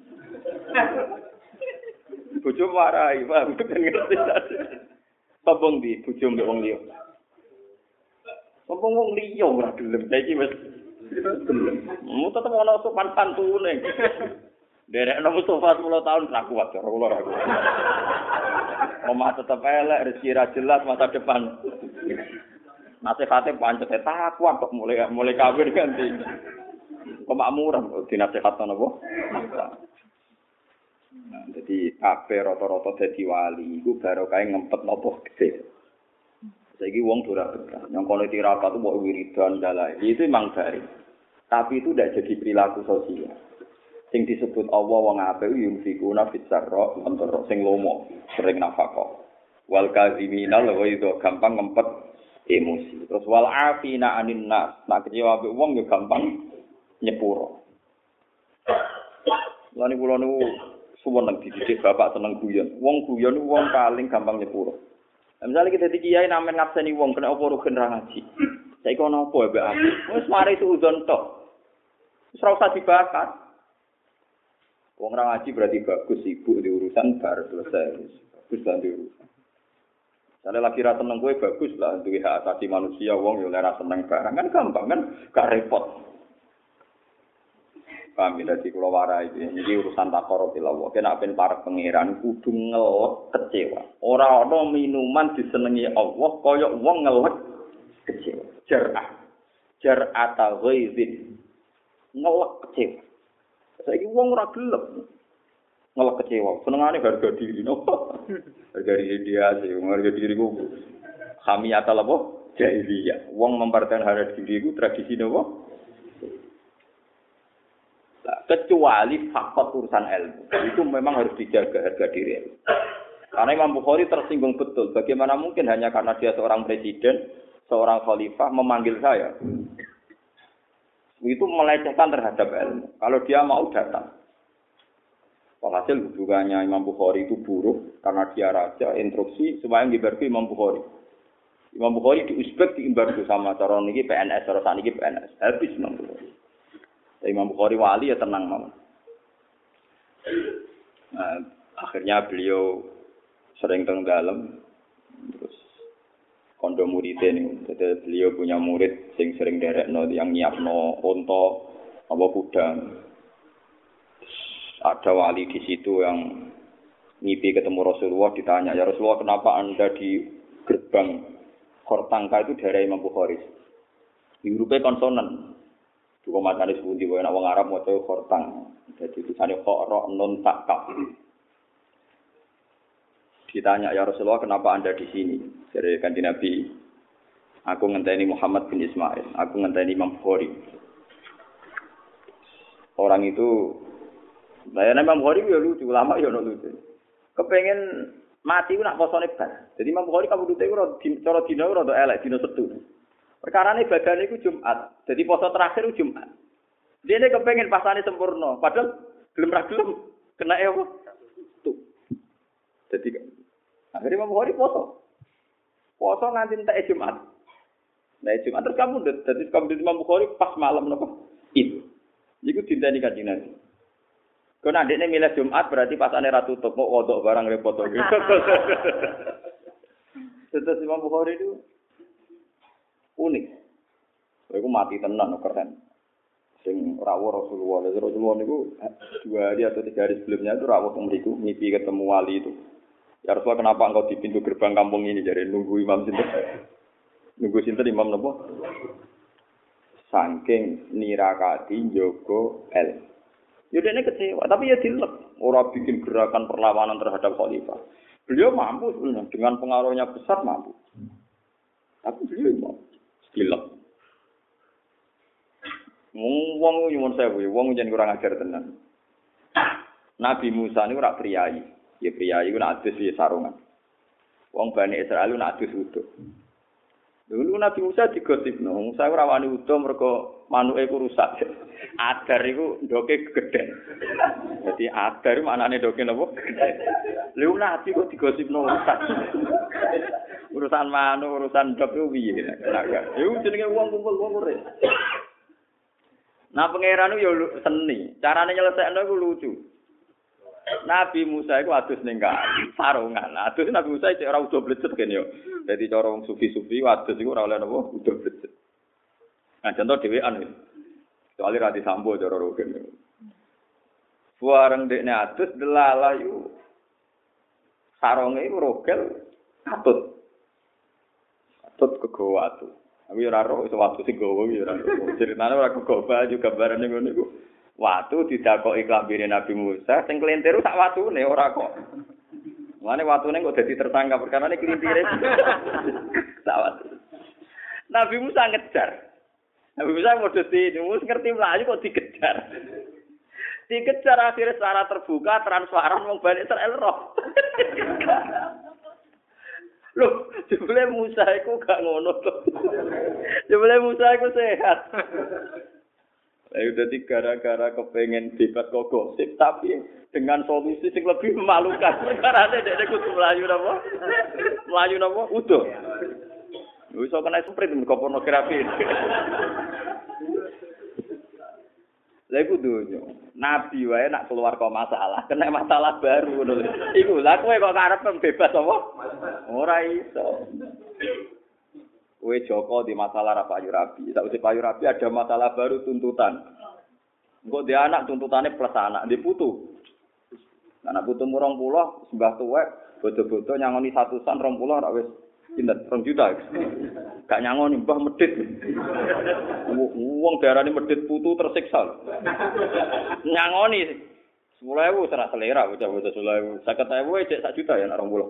Bojo marai, paham kan ngerti. Sombong di bojo mbek wong liya. Sombong wong liya ora gelem. Saiki wis mu tetep ana sopan pantune. Derekno Mustafa sepuluh tahun ra kuat cara kula ra kuat. Omah tetep elek, rezeki ra jelas masa depan. Nasihate pancet takwa kok mulai mulai kawin ganti. Kemakmuran dinasihatno napa? Nah, jadi kabeh rata-rata dadi wali iku barokah ngempet napa gede. Saiki wong ora betah. Yang kono tirakat mbok wiridan dalai. Itu memang baik. Tapi itu tidak jadi perilaku sosial. Sing disebut Allah wong apik yunfikuna fitsarra mentoro sing lomo, sering nafkah. Wal kazimina lho itu gampang ngempet emosi. Terus wal afina anin nas. Nak kecewa mbek wong yo gampang nyepuro. Lan kula niku suwun nang dididik bapak seneng guyon. Wong guyon wong paling gampang nyepuro. Misalnya kita di kiai namen ngabseni wong kena apa rugen ra ngaji. Saiki ono apa mbek aku? Wis mari suudzon tok. Wis ora usah dibakar. Wong ra ngaji berarti bagus sibuk di urusan bar selesai. Bagus lan di urusan. Sale lagi ra seneng kowe bagus lah duwe hak asasi manusia wong yo ora seneng barang kan gampang kan gak repot. Kami dadi kula warai iki urusan takoro tilawah. Kena ben para pangeran kudu ngelek kecewa. Ora ana minuman disenengi Allah kaya wong ngelek kecewa. Jar'ah. Jar'ata ghaizin. Ngelek kecewa. Saiki wong ora gelem ngelek kecewa. Senengane harga diri napa? Harga diri dia sih, harga diri ku khamiyat apa? Jahiliyah. Wong mempertahankan harga diri ku tradisi napa? Kecuali faktor urusan ilmu. Itu memang harus dijaga harga diri. Karena Imam Bukhari tersinggung betul. Bagaimana mungkin hanya karena dia seorang presiden, seorang khalifah memanggil saya. Itu melecehkan terhadap ilmu. Kalau dia mau datang. Walhasil hubungannya Imam Bukhari itu buruk. Karena dia raja, instruksi supaya diembargo Imam Bukhari. Imam Bukhari di Uzbek diembargo sama cara niki P N S, cara saniki P N S. Habis Imam Bukhari. Imam Bukhari wali ya tenang mawon. Nah, akhirnya beliau sering teng dalem terus kondo muridé niku. Jadi beliau punya murid sing sering derekno yang nyiapno unta apa kuda. ada wali di situ yang ngipi ketemu Rasulullah, ditanya, ya Rasulullah kenapa anda di gerbang Khortangka itu daerah Imam Bukhari? Hurufnya konsonan. Dua matanya sebuti, bahwa orang Arab mau tahu Khortang. Jadi tulisannya Khoro non takaf. Ditanya, ya Rasulullah kenapa anda di sini? Dari kanjeng Nabi, aku ngenteni Muhammad bin Ismail, aku ngenteni Imam Bukhari. Orang itu, nah Imam Bukhari ya lucu, lama ya lucu. Kepengen mati nak posone bar. Jadi Imam Bukhari kabudute iku cara dina ora elek dina Setu. Perkarane badane iku Jumat. Jadi poso terakhir iku Jumat. Dene kepengen pasane sempurna, padahal gelem ra gelem kena e apa? Tuh. Jadi akhirnya Imam Bukhari poso. Poso nganti entek Jumat. Nah Jumat terus kamu dadi kamu di Imam Bukhari pas malam napa? Itu. Iku dinteni kanjeng Nabi. Kau nanti ini milih Jumat berarti pasane ra tutup, mau wodok barang repot lagi. Terus Imam Bukhari itu unik. Aku mati tenan keren. Sing rawuh Rasulullah, Rasulullah niku dua hari atau tiga hari sebelumnya itu rawuh mriku mimpi ketemu wali itu. Ya Rasulullah kenapa engkau di pintu gerbang kampung ini jadi nunggu imam sinten? Nunggu sinten imam napa? Saking nirakati njogo el. Ya dia ini kecewa, tapi ya dilek. Orang bikin gerakan perlawanan terhadap khalifah. Beliau mampu sebenarnya, dengan pengaruhnya besar mampu. Tapi beliau mau dilek. Wong nyuwun sewu, wong jen kurang ajar tenan. Nabi Musa ini ora priyayi. Ya priyayi ku nak adus ya sarungan. Wong Bani Israil nak adus utuh. Dulu Nabi Musa digosipno, Musa ora wani utuh mergo manuke ku rusak. Adar iku ndoke gedhe. Dadi adar maknane ndoke napa? Gedhe. Lha Nabi kok digosipno rusak. Urusan manuk, urusan ndok ku piye? Iku jenenge wong kumpul wong urip. Nah pangeran yo seni, carane nyelesekno iku lucu. Nabi Musa iku adus ning kali, sarungan. Adus Nabi Musa cek ora udo blecet kene yo. Dadi cara wong sufi-sufi adus iku ora oleh napa udo blecet. Nah contoh dhewean iki. Soale ra disambo cara rogen. Bareng dekne adus delalah yo. Sarunge iku rogel katut. Katut kegowo atu. Aku yo ora ro iso watu sing gowo yo ora. Ceritane ora kegowo baju gambarane ngono iku. Watu didakoki klambine Nabi Musa, sing kelintir sak watune ora kok. Mane watune kok dadi tersangka perkara ne kelintire. Sak watu. Nabi Musa ngejar. Nabi Musa modesti, Musa ngerti mlayu kok dikejar. Dikejar akhirnya secara terbuka transparan wong Bani Israil roh. Loh, jebule Musa iku gak ngono to. Jebule Musa iku sehat. Saya udah gara-gara kepengen debat kok gosip, tapi dengan solusi yang lebih memalukan. Karena ada dia kudu melayu apa? Melayu apa? Udah. Bisa kena sprint ke pornografi. Lha iku dunyo. Nabi wae nak keluar kok masalah, kena masalah baru ngono. Iku lha kowe kok karep bebas apa? Ora iso. Kowe Joko di masalah ra payu rabi. Sakwise payu rabi ada masalah baru tuntutan. Engko dia anak tuntutannya plus anak, dia putu. Anak putu murong puluh, sembah tuwek, bodo-bodo nyangoni satusan rong puluh ora wis pinten rong juta. Gak nyangoni mbah medhit. Wong darane medhit putu tersiksa. Nyangoni sepuluh ribu serah selera bocah-bocah sepuluh ribu. lima puluh ribu cek sak juta ya nek rong puluh.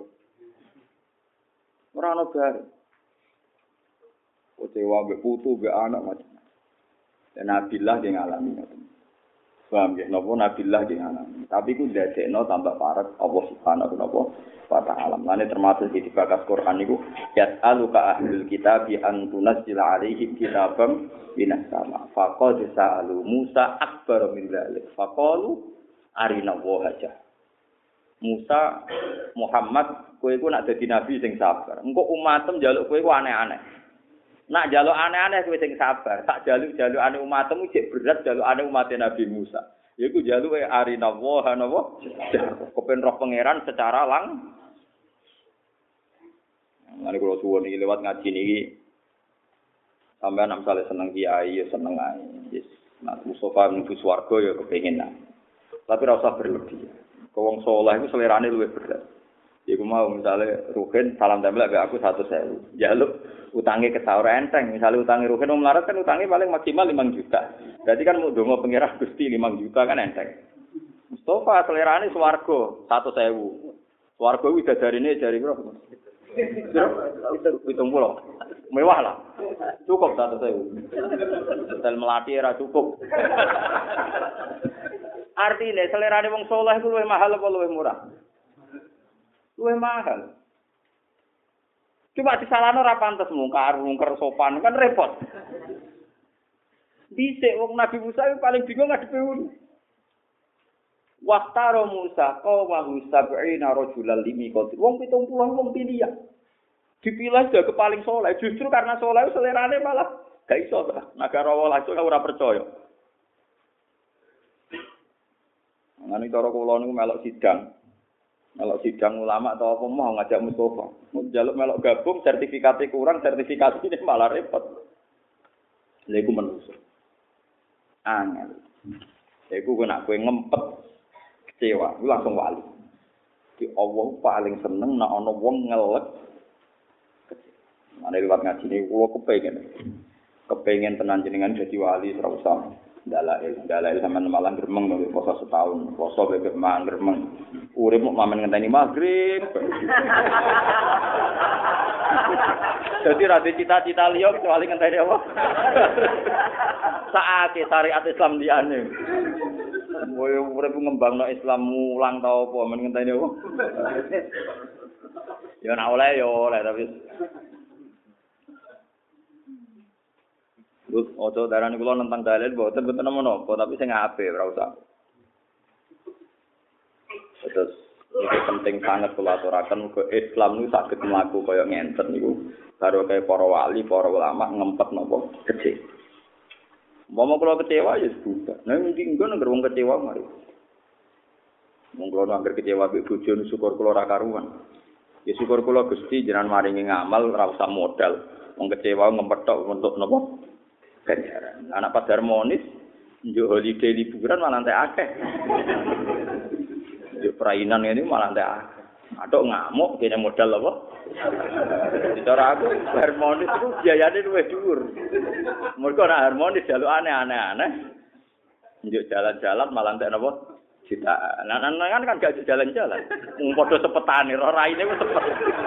Ora ono bar. Kecewa mbek putu mbek anak macam. Dan Nabilah dia ngalami ngoten. Paham nggih? Napa Nabilah dia ngalami. Tapi ku ndadekno tambah parek Allah Subhanahu wa taala. Mane termasuk di bakas Quran niku yas'aluka ahlul kitab bi an tunazzila alaihim kitabam minas sama. Faqad sa'alu Musa akbar min dzalik. Faqalu arina wahajah. Musa Muhammad kowe iku nak dadi nabi sing sabar. Engko umatem njaluk kowe iku aneh-aneh. Nak jaluk aneh-aneh kowe sing sabar. Tak jaluk-jalukane umatmu cek berat jalukane umat Nabi Musa. Yaiku jaluke arina wa napa? Kepen roh pangeran secara lang. Mane kula suwun iki lewat ngaji niki sampeyan nek misale seneng kiai ya seneng ae. Yes. Nah Mustafa mlebu swarga ya kepengin. Tapi ora usah berlebih. Wong saleh iku selerane luwih berat. Iku mau misale Ruhin salam tempel ambek aku seratus ribu. Jaluk utange ketawur enteng. Misale utange Ruhin wong melarat kan utange paling maksimal lima juta. Berarti kan mau ndonga pengira Gusti lima juta kan enteng. Mustafa selerane swarga seratus ribu. Swarga kuwi dadarine jari piro? Hitung pulau. Mewah lah. Cukup seratus ribu. Hotel Melati era cukup. Artinya selerane wong saleh iku luwih mahal apa luwih murah? Luwih mahal. Cuma disalahno ora pantes mungkar, mungkar sopan kan repot. Dhisik wong Nabi Musa itu paling bingung ngadepi ngono. Waqtaro Musa qaumahu sab'ina rajulan limiqati. Wong pitung puluh wong pilihan. Dipilih jaga paling saleh justru karena saleh selerane malah gak iso ta. Negara walah iso ora percaya. Ngene cara kula niku melok sidang. Melok sidang ulama atau apa mau ngajak Mustafa. Njaluk melok gabung sertifikatnya kurang, sertifikatnya malah repot. Lha iku menungso. Angel. Lha iku kena kowe ngempet kecewa, lu langsung wali. Di Allah paling seneng nek ana wong ngelek. Mane liwat ngaji niku kula kepengin. Kepengin tenan jenengan dadi wali ora usah dalail, dalail sampean malah gremeng lho poso setahun, poso bebek mangan gremeng. Urip mok mamen ngenteni magrib. Dadi ra cita-cita liya kecuali ngenteni apa? Saake syariat Islam liyane. Kowe urip ngembangno Islam mulang ta apa men ngenteni apa? Ya ora oleh ya oleh tapi Lut ojo darani kula nentang dalil mboten mboten menapa tapi sing apik ora usah. Terus itu penting sangat kula aturaken muga Islam niku saged mlaku kaya ngenten niku. Karo kaya para wali, para ulama ngempet napa kecil. Umpama kula kecewa ya sudah. Nah mungkin engko nek wong kecewa mari. Mung kula anggere kecewa mbek bojo syukur kula ora karuan. Ya syukur kula Gusti jenengan maringi ngamal ora usah modal. Wong kecewa ngempethok untuk napa? Ganjaran. Anak pas harmonis, njuk holiday liburan malah entek akeh. Njuk perainan ini malah entek akeh. Atok ngamuk kene modal apa? Cara aku harmonis itu biayane luwih dhuwur. Mergo nek harmonis jalukane aneh-aneh. Njuk jalan-jalan malah entek napa? Jutaan. Nah, kan kan gak jalan-jalan. Wong padha sepetane, ora raine wis sepet.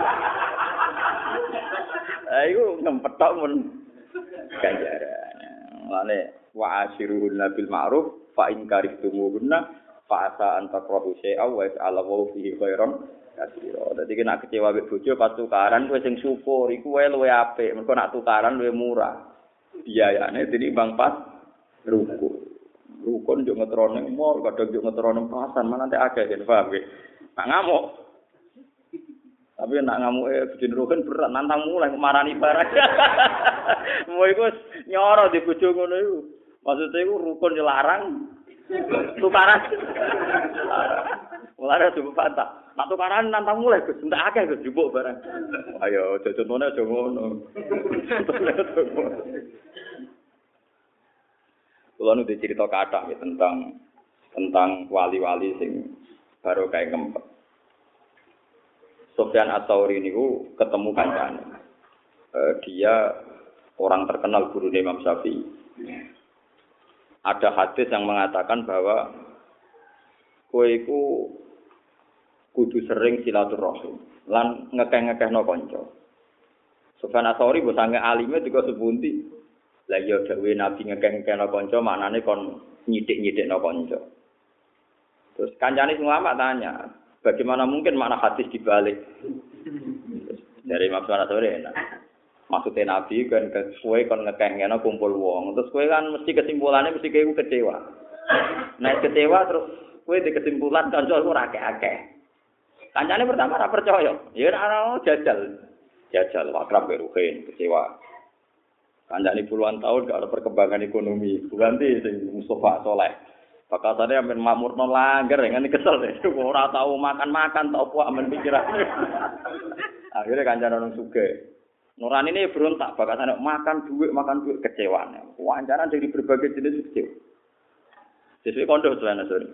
Ah iku ngempethok men ganjaran. Lane wa asyiruhunna bil ma'ruf fa in karihtumuhunna fa asa an takrahu syai'a wa ya'lamu fihi khairan katsira. Dadi nek kecewa mek bojo pas tukaran kowe sing syukur iku wae luwih apik. Mergo nek tukaran luwih murah. Biayane tinimbang pas rukun. Rukun yo ngetrone mall, kadang yo ngetrone pasar, mana nek akeh yen paham nggih. Nak ngamuk. Tapi nak ngamuke bojone rukun berat nantang mulai marani barang. Mau iku nyoro di bojo ngono iku. Maksude iku rukun yo larang. Tukaran. Mulane coba pantah. Nak tukaran nantang mulai Gus, entek akeh Gus jupuk barang. Ayo aja contone aja ngono. Kulo nu dicerita kathah ya tentang tentang wali-wali sing baru kayak ngempet. Sufyan Ats-Tsauri niku ketemu kancane. Uh, dia orang terkenal guru Imam Syafi'i. Ada hadis yang mengatakan bahwa kowe iku kudu sering silaturahim lan ngekeh-ngekehno kanca. Sufyan Ats-Tsauri mbok sange alime juga sebunti. Lah ya dawuhe Nabi ngekeh-ngekehno kanca maknane kon nyidik-nyidikno kanca. Terus kancane ulama tanya, bagaimana mungkin makna hadis dibalik? Dari Imam Ats-Tsauri enak. Maksudnya Nabi kan kowe kon ngekeh-ngekehno kumpul wong. Terus kowe kan mesti kesimpulannya mesti kowe kecewa. Nek kecewa terus kowe di kesimpulan kanca ora akeh-akeh. Kancane pertama ora percaya. Ya ora jajal. Jajal akrab beruhin kecewa. Kancane puluhan tahun gak ada perkembangan ekonomi. Ganti sing Mustafa Saleh. Bakasane amen makmurno langgar ngene kesel deh. Ora tau makan-makan tau apa amen pikirane. Akhirnya kancane nang sugih. Nurani ini berontak bakasane makan duit, makan duit kecewane. Wawancara dari berbagai jenis kecewa. Sesuai kondo selana sore.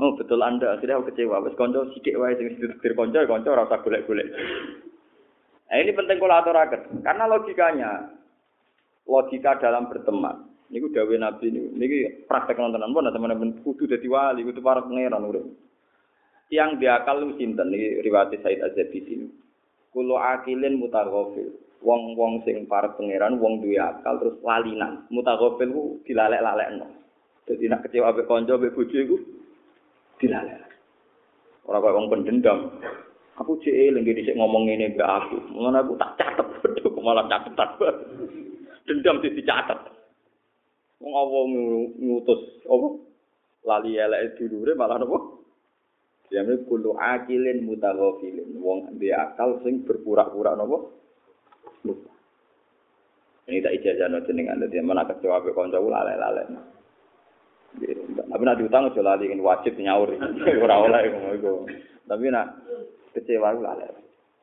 Oh, betul Anda. Akhirnya aku kecewa. Wes kanca sithik wae sing didir kanca, kanca ora usah golek-golek. Nah, ini penting kula aturaken. Karena logikanya logika dalam berteman. Niku dawuh Nabi niku. Niki praktek nontonan pun teman-teman kudu dadi wali, kudu para pangeran urip. Yang diakal lu sinten niki riwayat Said Az-Zabi sini. Kulo akilin mutaghafil. Wong-wong sing para pangeran wong duwe akal terus lalinan. Mutaghafil ku dilalek-lalekno. Dadi nek kecewa ambek kanca ambek bojo iku dilalek. Ora kaya wong pendendam. Aku cek eling dhisik ngomong ngene mbak aku. Ngono aku tak catet beduk malah catetan. Dendam dicatet. Wong apa ngutus apa? Lali eleke dulure malah napa? Jame kulo akilin mutaghafilin. Wong duwe akal sing berpura-pura napa? Lupa. Ini tak ijazahno jenengan dadi men aku kecewa ambek kanca lalek-lalek. Tapi nak diutang aja lali wajib nyaur. Ora oleh ngono. Tapi nak kecewa ku lalek.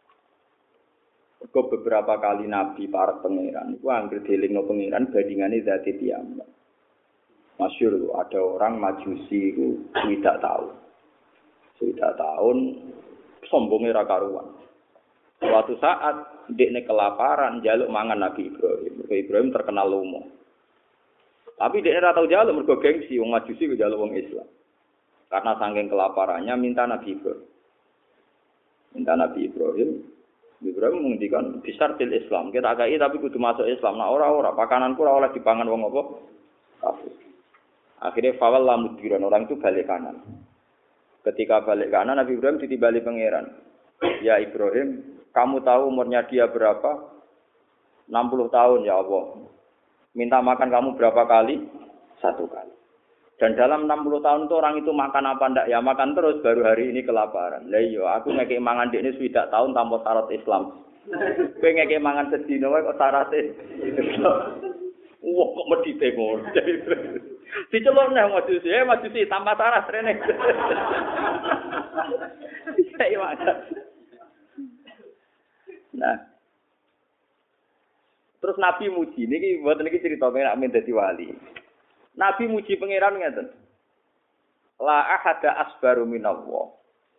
Kok beberapa kali nabi para pangeran iku anggere dielingno pangeran bandingane zati tiyang. Masyhur ada orang Majusi iku tidak tahu. Tidak tahun sombongnya ra karuan. Suatu saat ndekne kelaparan njaluk mangan Nabi Ibrahim. Ibrahim terkenal lomo. Tapi dia ora tau njaluk mergo gengsi wong Majusi ku njaluk wong Islam. Karena saking kelaparannya minta Nabi Ibrahim. Minta Nabi Ibrahim. Ibrahim menghentikan besar til Islam. Kita akai tapi kudu masuk Islam. Nah ora-ora pakananku ora oleh dipangan wong apa? Kafir. Akhirnya fawal lamudhiran orang itu balik kanan. Ketika balik kanan Nabi Ibrahim ditibali pangeran. Ya Ibrahim, kamu tahu umurnya dia berapa? enam puluh tahun ya Allah. Minta makan kamu berapa kali? Satu kali. Dan dalam enam puluh tahun itu orang itu makan apa ndak? Ya makan terus, baru hari ini kelaparan. Lah iya, aku ngekek mangan dik ini swidak tahun tanpa syarat Islam. Kowe ngekek mangan sedina wae kok syarate Islam. Wah, kok medhite ngono. Dicelok nang majusi, eh majusi tanpa syarat rene. Saya wae. Nah, terus Nabi muji, niki buat niki cerita nek men dadi wali. Nabi muji pangeran ngeten. La ahada asbaru minallah.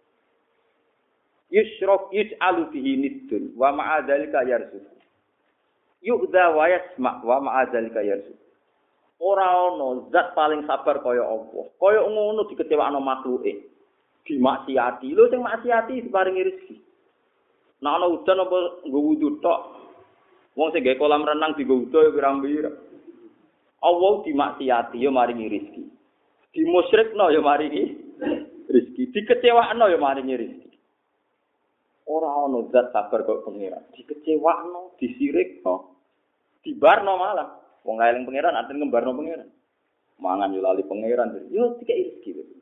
Yushrok yus'alu bihi niddun wa ma'a dzalika yarzuq. Yu'dha wa yasma' wa ma'a dzalika yarzuq. Ora ana zat paling sabar kaya Allah. Kaya ngono dikecewakno makhluke. Dimaksiati. Lho sing maksiati diparingi rezeki. Nek ana udan apa nggo wudu tok. Wong sing gawe kolam renang dienggo wudu ya pirang-pirang. Allah dimaksiati ya maringi rezeki. Dimusyrikno ya maringi rezeki. Dikecewakno ya maringi rezeki. Ora ana zat sabar kok pangeran. Dikecewakno, disirikno, dibarno malah. Wong eling pangeran artine ngembarno pangeran. Mangan yo lali pangeran. Yo dikek rezeki.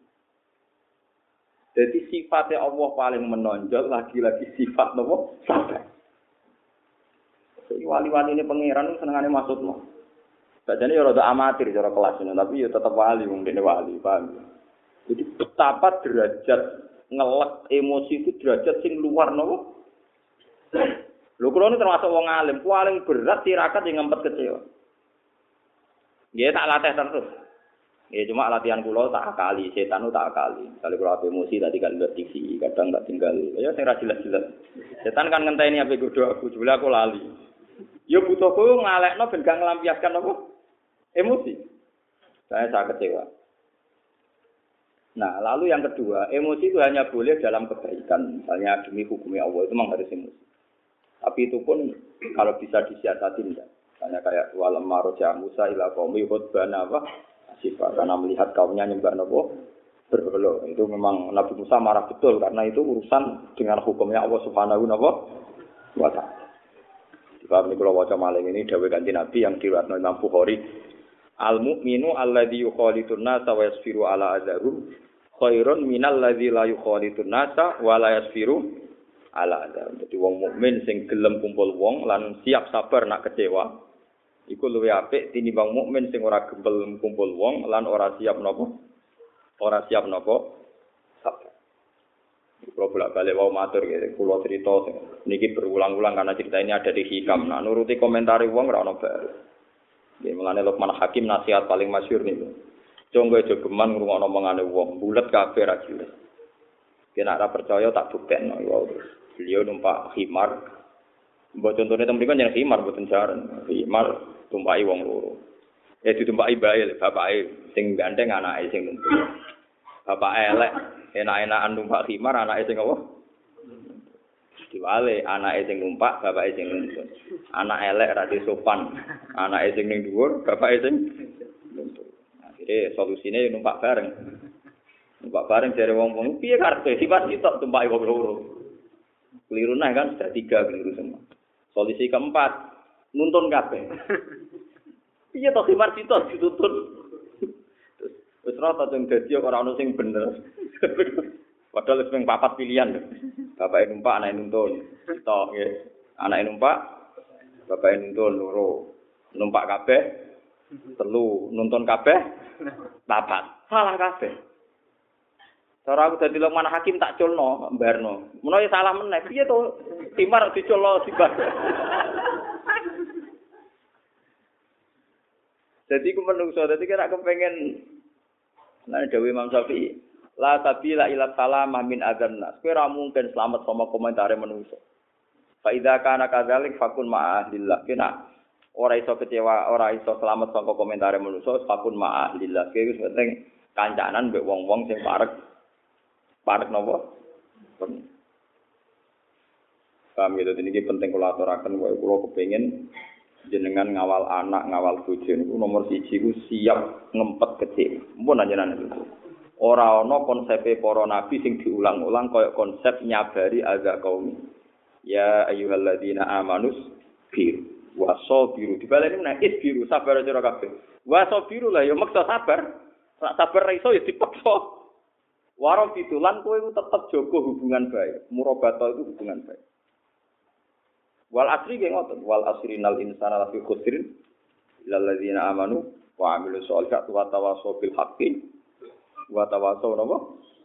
Jadi sifatnya Allah paling menonjol lagi-lagi sifat nopo sabar. Jadi wali-wali ini pangeran senengane maksudno. Bacane ya rada amatir cara kelas ini, tapi ya tetap wali wong dene wali, paham. Jadi betapa derajat ngelek emosi itu derajat sing luar nopo. Lho kula ini termasuk wong alim, paling berat tirakat yang ngempet kecewa. Nggih tak latih terus. Ya cuma latihan kula tak akali, setan tak akali. Kali kula emosi tadi kan ndak T V, kadang tak tinggal. Ya sing ra jelas-jelas. Setan kan ngenteni ape godho aku, jebule aku lali. Ya butuhku ngalekno ben gak nglampiaskan apa? Emosi. Saya sangat kecewa. Nah, lalu yang kedua, emosi itu hanya boleh dalam kebaikan. Misalnya demi hukumnya Allah itu memang harus emosi. Tapi itu pun kalau bisa disiasati enggak. Misalnya kayak walam maroja Musa ila qaumi khutbana apa? Sifat karena melihat kaumnya nyembah nopo berhala. Itu memang Nabi Musa marah betul karena itu urusan dengan hukumnya Allah Subhanahu wa taala. Sebab niku kula waca maling ini dawuh kanthi Nabi yang diriwayatkan Imam Bukhari, al mukminu alladzi yukhalitun nasa wa yasfiru ala adzahum khairun minal ladzi la yukhalitun nasa wa la yasfiru ala adzahum. Dadi wong mukmin sing gelem kumpul wong lan siap sabar nak kecewa iku luwih apik tinimbang mukmin sing ora gembel kumpul wong lan ora siap napa? Ora siap napa? Sabar. Kalau bolak-balik wau matur nggih, kula crita niki berulang-ulang karena cerita ini ada di hikam. Nah, nuruti komentari wong ora ono bae. Nggih, mulane Luqman Hakim nasihat paling masyhur niku. Conggo jogeman ngrungokno omongane wong, bulet kabeh ra jelas. Kena ora percaya tak buktekno ya terus. Beliau numpak khimar. Mbok contone teng mriku jeneng khimar mboten jaran. Khimar tumpaki wong loro. Ya ditumpaki bae bapake sing gandeng anake sing nuntut. Bapak elek enak-enakan numpak khimar anake sing apa? Diwale anake sing numpak bapake sing nuntut. Anak elek ra sopan. Anake sing ning dhuwur bapake sing nuntut. Akhire solusine numpak bareng. Numpak bareng jare wong-wong piye karepe sifat sitok tumpaki wong loro. Keliru nah kan sudah tiga keliru semua. Solusi keempat nuntun kabeh. Piye to khimar sitok dituntun. Wis rata sing dadi ora ono sing bener. Padahal wis ping papat pilihan. Bapake numpak anake nuntun. Sitok nggih. Anake numpak bapake nuntun loro. Numpak kabeh telu, nuntun kabeh papat. Salah kabeh. Cara aku dadi Luqman Hakim tak culno, mbarno. Menawa salah meneh, piye to? Timar diculno sibar. Jadi ku menungso, dadi kira kepengin lan dawuh Imam Syafi'i, la sabila ila salamah min adzan nas. Kowe ora mungkin selamat sama komentare menungso. Fa idza kana kadzalik fakun ma'ahlillah. Kena ora iso kecewa, ora iso selamat saka komentare menungso, fakun ma'ahlillah. Kuwi wis penting kancanan mbek wong-wong sing parek parek napa? Kami itu ini penting kula aturaken wae kula kepengin jenengan ngawal anak, ngawal bojo niku nomor siji ku siap ngempet kecil. Mumpun anjenengan itu. Ora ana konsepe para nabi sing diulang-ulang kaya konsep nyabari azza qaumi. Ya ayyuhalladzina amanus bir wasabiru. Dibaleni menawa isbiru sabar sira kabeh. Wasabiru lah ya maksa sabar. Sak sabar ra iso ya dipaksa. Warung ditulan kowe iku tetep jaga hubungan baik. Murabata itu hubungan baik. Wal asri ge ngoten, wal asrinal insana lafi khusrin illal ladzina amanu wa amilus sholihati wa tawassaw bil haqqi wa tawassaw napa?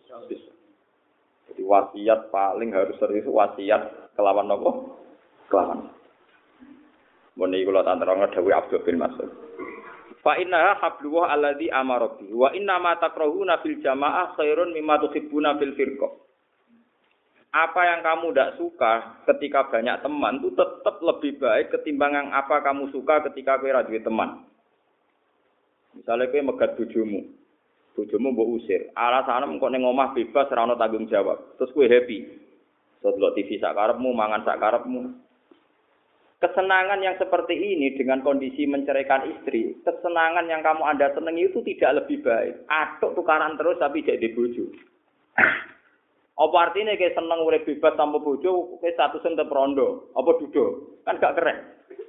Jadi wasiat paling harus serius wasiat kelawan napa? Kelawan. Mun iki kula tanterang dawuh Abdul bin Mas'ud. Fa inna hablullah alladzi amara bi wa inna ma takrahuna fil jamaah khairun mimma tuhibbuna fil firqah. Apa yang kamu tidak suka ketika banyak teman itu tetap lebih baik ketimbang yang apa kamu suka ketika kowe ra duwe teman. Misalnya kowe megat bojomu. Bojomu mbok usir. Alasane mengko ning omah bebas ora ana tanggung jawab. Terus kowe happy. So delok T V sak karepmu, mangan sak karepmu. Kesenangan yang seperti ini dengan kondisi menceraikan istri, kesenangan yang kamu Anda senangi itu tidak lebih baik. Atuk tukaran terus tapi jadi bojo. Apa artinya kayak seneng urip bebas tanpa bojo, kayak statusnya tetep rondo, apa dudo? Kan gak keren.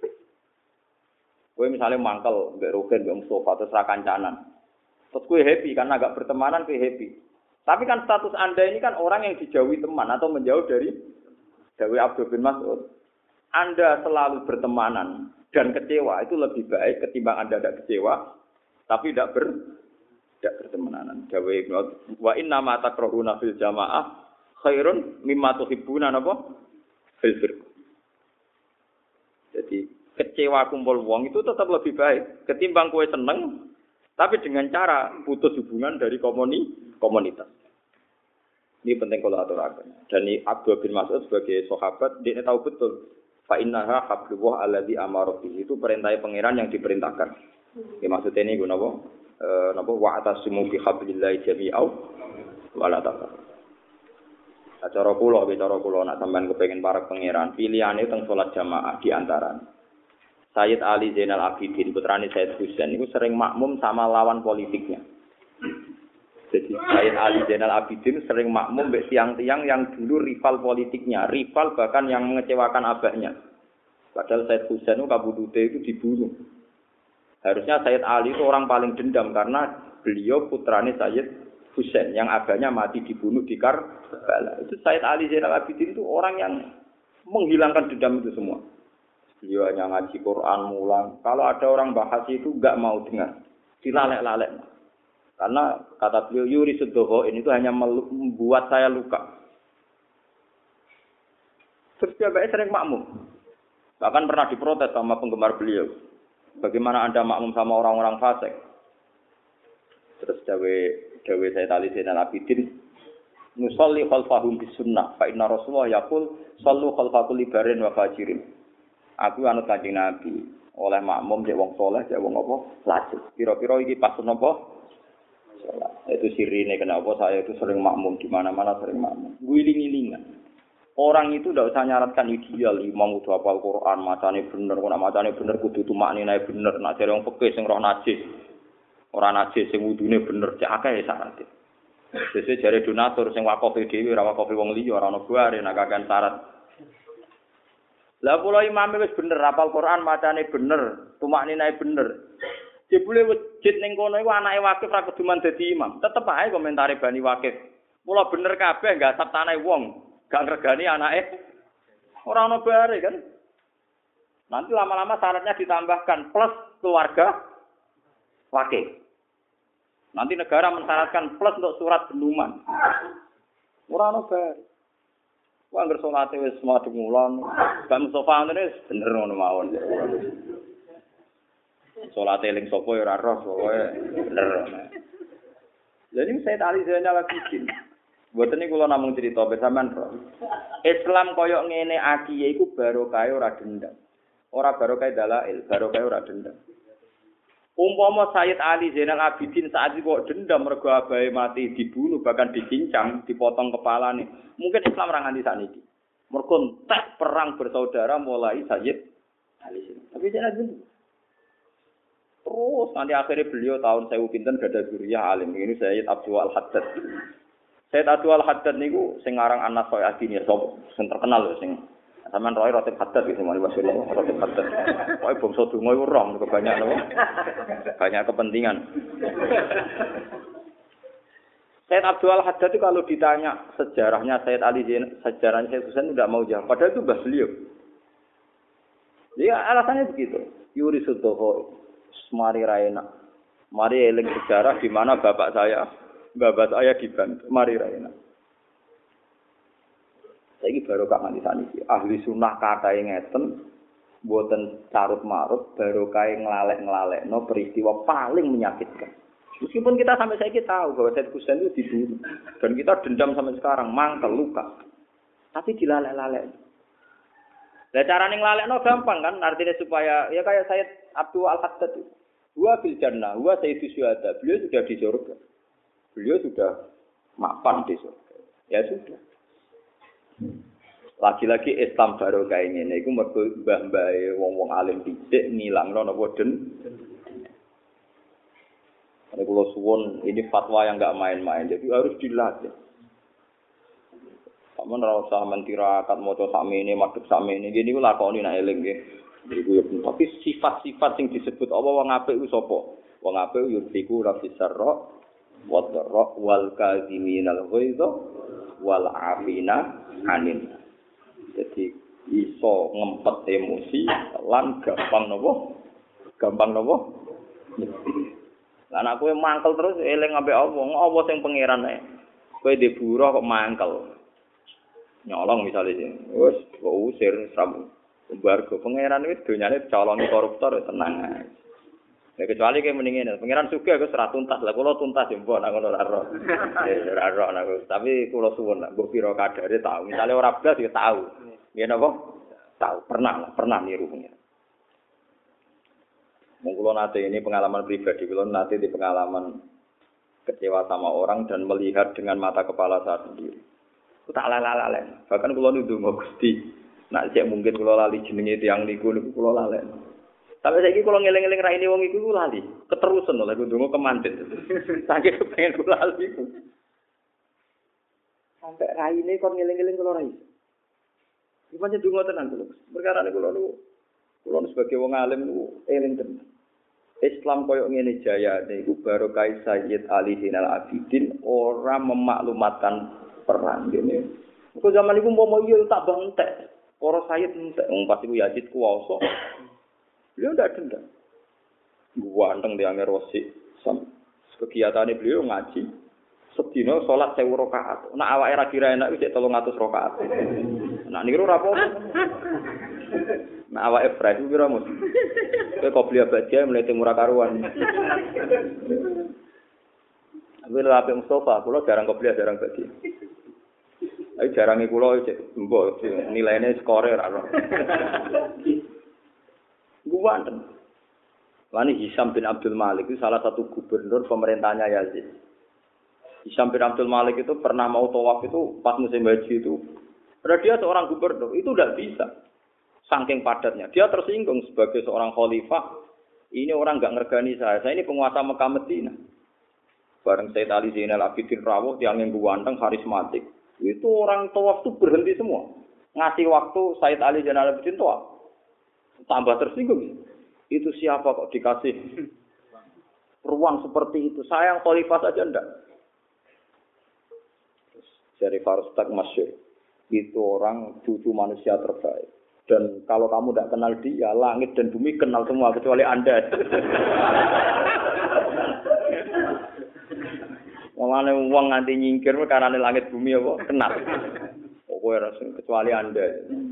Kowe misalnya mangkel, mbek Rugen, mbek Mustafa terus ra kancanan. Terus kowe happy karena agak bertemanan kowe happy. Tapi kan status Anda ini kan orang yang dijauhi teman atau menjauh dari Dawi Abdul bin Mas'ud. Anda selalu bertemanan dan kecewa itu lebih baik ketimbang Anda tidak kecewa tapi tidak ber tidak bertemanan. Dawe wa inna ma takrahuna fil jamaah khairun mimma tuhibbuna napa fil firqah. Jadi kecewa kumpul wong itu tetap lebih baik ketimbang kowe seneng tapi dengan cara putus hubungan dari komuni komunitas. Ini penting kalau aturaken. Dan Abdul bin Mas'ud sebagai sahabat dia tahu betul fa innaha hablullah alladzi amara bihi itu perintah pangeran yang diperintahkan. Ya maksudnya ini guna apa? Eh napa wa atasimu bi hablillahi jami'au wa la tafarraqu. Cara kula, cara kula nak sampean kepengin para pangeran, pilihane teng salat jamaah di antara. Sayyid Ali Zainal Abidin putrane Sayyid Husain itu sering makmum sama lawan politiknya. Jadi Sayyid Ali Zainal Abidin sering makmum mbek tiang-tiang yang dulu rival politiknya, rival bahkan yang mengecewakan abahnya. Padahal Sayyid Husain itu kabudute itu dibunuh. Harusnya Sayyid Ali itu orang paling dendam karena beliau putrane Sayyid Husain yang abahnya mati dibunuh di Karbala. Itu Sayyid Ali Zainal Abidin itu orang yang menghilangkan dendam itu semua. Beliau hanya ngaji Quran mulang. Kalau ada orang bahas itu enggak mau dengar. Dilalek-lalek. Karena kata beliau yuri sedhoho ini itu hanya membuat saya luka. Terus dia sering makmum. Bahkan pernah diprotes sama penggemar beliau. Bagaimana Anda makmum sama orang-orang fasik? Terus dawe dawe saya tali Zainal Abidin nusolli khalfahum bis sunnah fa inna Rasulullah yaqul sallu khalfa kulli barin wa fajirin. Aku anut Kanjeng Nabi oleh makmum cek wong saleh cek wong apa lajeng. Pira-pira iki pas napa salat. Itu sirine kenapa saya itu sering makmum di mana-mana sering makmum. Guling-gilingan. Orang itu tidak usah nyaratkan ideal, imam kudu hafal Quran, macane bener, kok macane bener kudu tumaknine bener, nek jare wong fikih sing roh najis. Ora najis sing wudune bener cek akeh syarat. Sesuk jare donatur sing wakaf dhewe ora wakaf wong liya, ora ono bare nek kakean syarat. Lah kula imame wis bener hafal Quran, macane bener, tumaknine bener. Jebule wujud ning kono iku anake wakif ra kudu dadi imam. Tetep ae komentare Bani Wakif. Mula bener kabeh enggak asap tanah wong. Gak ngregani anake ora ono bare kan. Nanti lama-lama syaratnya ditambahkan plus keluarga wakil. Nanti negara mensyaratkan plus untuk surat benduman. Ora ono bare. Wong anggere salate wis madhep ngulon, gak Mustofa ngene bener ngono mawon. Salate eling sapa ya ora roh pokoke bener. Lha iki saya tali Zainal Abidin. Mboten niku kula namung crita besaman roh. Islam koyok ngene akiye iku barokah ora dendam. Ora barokah dalail, barokah ora dendam. Umpama Sayyid Ali Zainal Abidin saat itu kok dendam mergo abahe mati dibunuh bahkan dicincang, dipotong kepalane. Mungkin Islam ora nganti sakniki. Mergo entek perang bersaudara mulai Sayyid Ali. Tapi Zainal Abidin terus nanti akhirnya beliau tahun sewu pinten gada zuriyah alim. Ini Sayyid Abdul Al-Haddad. Sayyid Abdul Al-Haddad niku sing aran Anas Soy Adin ya sapa sing terkenal lho sing sampean roe Ratib Haddad iki mari Rasulullah Ratib Haddad. Pokoke bangsa donga iku rong kebanyak napa? Banyak kepentingan. Sayyid Abdul Al-Haddad itu kalau ditanya sejarahnya Sayyid Ali Zain, sejarahnya Sayyid Husain tidak mau jawab. Padahal itu mbah beliau. Dia alasannya begitu. Yuri Sudoho Mari Raina. Mari eling sejarah di mana bapak saya babat saya dibantu, mari raina. Saiki barokah nganti saniki. Ahli sunnah katae ngeten, mboten carut-marut, barokah nglalek-nglalekno peristiwa paling menyakitkan. Meskipun kita sampai saiki tahu bahwa Said Husain itu dibunuh dan kita dendam sampai sekarang, mangkel luka. Tapi dilalek-lalek. Lah carane nglalekno gampang kan, artinya supaya ya kayak Sayyid Abdul Al-Haddad itu. Huwa fil jannah, huwa sayyidus syuhada. Beliau sudah di surga. Beliau sudah mapan di surga. Ya sudah. Lagi-lagi Islam baru kayak ngene iku mergo mbah-mbahe wong-wong alim dhisik ngilangno napa den. Nek kula suwun ini fatwa yang enggak main-main. Jadi harus dilatih. Sampeyan ora usah mentirakat maca sakmene, madhep sakmene. Iki niku lakoni nek eling nggih. Iku ya tapi sifat-sifat sing disebut apa wong apik ku sapa? Wong apik yurfiku rafisarra wa dharra wal kaziminal ghaidha wal afina anin. Jadi iso ngempet emosi lan gampang napa? Gampang napa? Lah nek kowe mangkel terus eling ambek apa? Apa sing pangeran ae. Kowe di buruh kok mangkel. Nyolong misalnya sih. Wes kok usir sam Bargo pangeran itu donyane calon koruptor tenang ae. Ya kecuali kayak mendingin, pangeran sugih aku serat tuntas lah, kalau tuntas ya mbok nak ngono ora roh. Ya ora roh aku, tapi kula suwun nak mbok pira kadare tahu. Misale ora blas ya tahu. Nggih napa? Tahu, pernah lah, pernah niru pangeran. Mung kula nate ini pengalaman pribadi, kula nate di pengalaman kecewa sama orang dan melihat dengan mata kepala saya sendiri. Ku tak lalalen. Bahkan kula ndonga Gusti nak cek mungkin kula lali jenenge tiyang niku niku kula lalen. Tapi saiki kula ngeling-eling raine wong iku lali, keterusan lho aku ndonga kemanten. Saking pengen kula lali iku. Sampai raine kon ngeling-eling kula rai. Iki pancen ndonga tenan kula. Perkara niku kula niku kula sebagai wong alim niku eling tenan. Islam koyo ngene jayane iku barokah Sayyid Ali Zainal Abidin ora memaklumatkan perang ngene. Kok zaman iku umpama iya tak bantek. Para Sayyid entek wong pas iku Yazid kuwasa. Beliau ndak dendam. Guanteng di anger wasi. Kegiatane beliau ngaji. Sedina salat seribu rakaat. Nek awake ra kira enak wis telung atus rakaat. Nek niru ora apa-apa. Nek awake fresh pira mus. Kowe kok beli abad dia mlete murah karuan. Kuwi lho apik Mustafa, kula jarang kopiah jarang bagi. Ayo jarange kula cek mbok nilaine skore ora ono. Guwanten. Wani Hisam bin Abdul Malik itu salah satu gubernur pemerintahnya Yazid. Hisam bin Abdul Malik itu pernah mau tawaf itu pas musim haji itu. Padahal dia seorang gubernur, itu tidak bisa. Saking padatnya. Dia tersinggung sebagai seorang khalifah. Ini orang enggak ngergani saya. Saya ini penguasa Mekah Medina. Bareng Sayyid Ali Zainal Abidin Rawuh yang ganteng karismatik. Itu orang tawaf itu berhenti semua. Ngasih waktu Sayyid Ali Zainal Abidin tawaf. Tambah tersinggung. Itu siapa kok dikasih ruang seperti itu? Saya yang khalifah saja enggak. Dari Farustak Masyur. Itu orang cucu manusia terbaik. Dan kalau kamu tidak kenal dia, langit dan bumi kenal semua kecuali Anda. Mulane wong nganti nyingkir karena langit bumi apa kenal. Pokoknya kecuali Anda.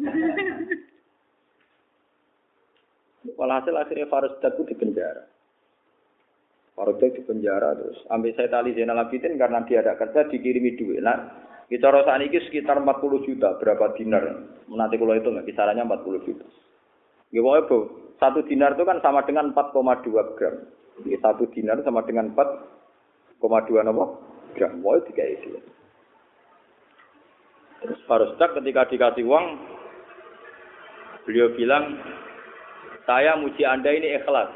Walhasil akhirnya Farusdak itu dipenjara. Farusdak dipenjara terus. Ambil Sayyid Ali Zainal Abidin karena dia ada kerja dikirimi duit. Nah, kisaran saat ini sekitar empat puluh juta. Berapa dinar? Nanti kalau itu nggak kisarannya empat puluh juta. Gimana bu? Satu dinar itu kan sama dengan empat koma dua gram. Jadi satu dinar sama dengan empat koma dua gram. Wah itu kayak itu. Terus Farusdak ketika dikasih uang, beliau bilang, saya muji Anda ini ikhlas.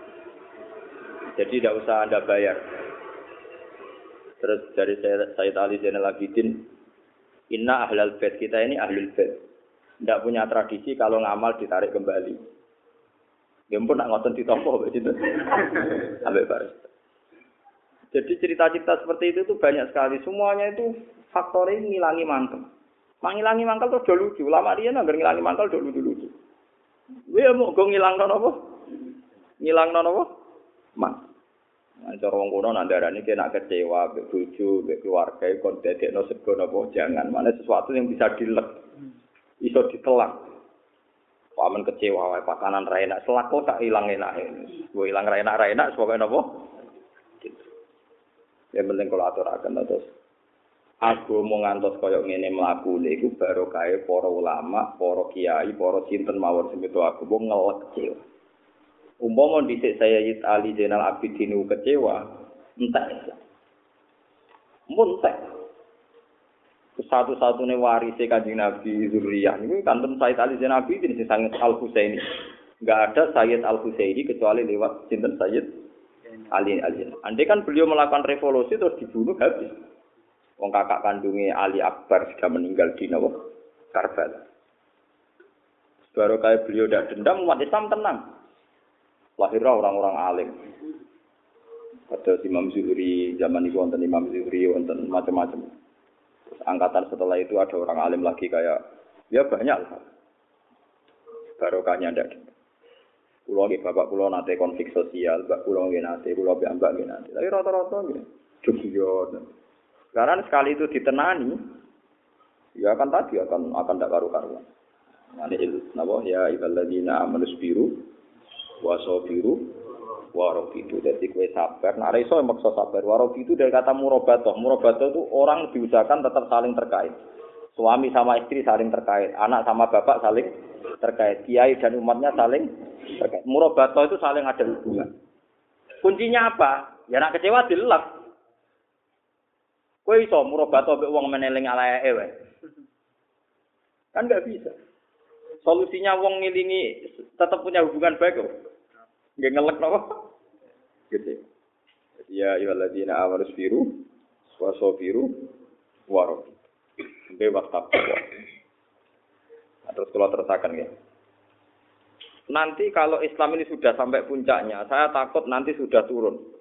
Jadi tidak usah Anda bayar. Terus dari Sayyid Ali Zainal Abidin, inna ahlal bait, kita ini ahlul bait. Tidak punya tradisi kalau ngamal ditarik kembali. Ya pun nak ngoten ditompo begitu. Sampai baris. Jadi cerita-cerita seperti itu tuh banyak sekali. Semuanya itu faktornya ngilangi mangkel. Mangilangi mangkel terus do lucu. Lama dia nangger ngilangi mangkel do lucu-lucu. Wih mau go ngilangno napa? Ngilangno napa? Man. Nah, cara wong kono nandarane kena kecewa mbek bojo, mbek keluarga kon dadekno sego napa jangan. Mana sesuatu yang bisa dilek. Iso ditelak. Paman kecewa wae pakanan ra enak, selako tak ilang enake. Mbok ilang ra enak ra enak pokoke napa? Ya penting kula aturaken terus. Aku mau ngantos koyok ngene mlaku iku barokahe para ulama, para kiai, para sinten mawon sing itu aku mau ngelek kecewa. Umpama dhisik Sayyid Ali Zainal Abidin kecewa, entek. Muntek. Satu-satunya warise Kanjeng Nabi Zuriyah niku kanten Sayyid Ali Zainal Abidin sing sanget Al-Husaini. Enggak ada Sayyid Al-Husaini kecuali lewat sinten Sayyid Ali Ali. Andai kan beliau melakukan revolusi terus dibunuh habis. Wong kakak kandungnya Ali Akbar sudah meninggal di Nawa Karbala. Baru kayak beliau tidak dendam, umat Islam tenang. Lahirlah orang-orang alim. Ada Imam Zuhri, zaman itu wonten Imam Zuhri, wonten macam-macam. Terus angkatan setelah itu ada orang alim lagi kayak, ya banyak lah. Barokahnya tidak dendam. Pulau nggih bapak pulau nate konflik sosial, mbak pulau nggih nate, pulau mbak mbak nggih nate. Tapi rata-rata nggih, jubion. Karena sekali itu ditenani, ya akan tadi akan akan tidak karu-karuan. Nanti itu, nabo ya ibaladina amanus biru, wasobiru, warobidu. Jadi kue sabar. Nah, reso yang maksud sabar. Warobidu dari kata murabatoh. Murabatoh itu orang diusahakan tetap saling terkait. Suami sama istri saling terkait, anak sama bapak saling terkait, kiai dan umatnya saling terkait. Murabatoh itu saling ada hubungan. Kuncinya apa? Ya nak kecewa dilek. Kowe iso murabato mbek wong meneling alaeke wae. Kan enggak bisa. Solusinya wong ngilingi tetap punya hubungan baik kok. Nggih ngelek napa? Gitu. Ya ayyuhalladzina amanu sabiru wasabiru waro. Sampai waktu apa? Terus kalau terusakan ya. Nanti kalau Islam ini sudah sampai puncaknya, saya takut nanti sudah turun.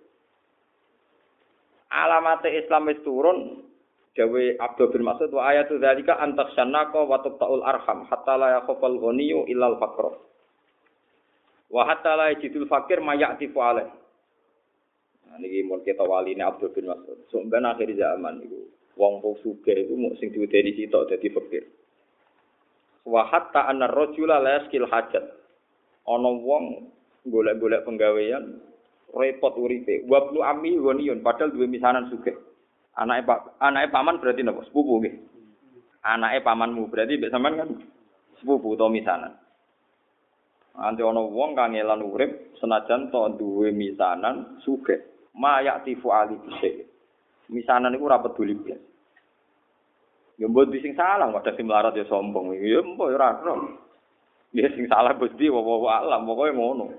Alamate Islam wis turun dawe Abdul bin Mas'ud wa ayatu dzalika antaksannaka wa taqtaul arham hatta la yakhafal ghaniyyu illa al faqr wa hatta la yajidul fakir mayati alaih. Nah niki mun kita waline Abdul bin Mas'ud sampeyan akhir zaman niku wong sugih iku mung sing diwedeni sitok dadi fakir. Wa hatta anna rajula la yaskil hajat. Ana wong golek-golek penggawean repot uripe. Wa ibnu ammi ghaniyun padahal duwe misanan sugih. Anake pak anake paman berarti napa? Sepupu nggih. Anake pamanmu berarti mbek sampean kan sepupu utawa misanan. Nanti ana wong kang ngelan urip senajan to duwe misanan sugih. Ma ya'tifu ali bisik. Misanan iku ora peduli blas. Ya mbok sing salah kok dadi melarat ya sombong. Ya mbok ora ora. Ya sing salah Gusti wa alam pokoke ngono.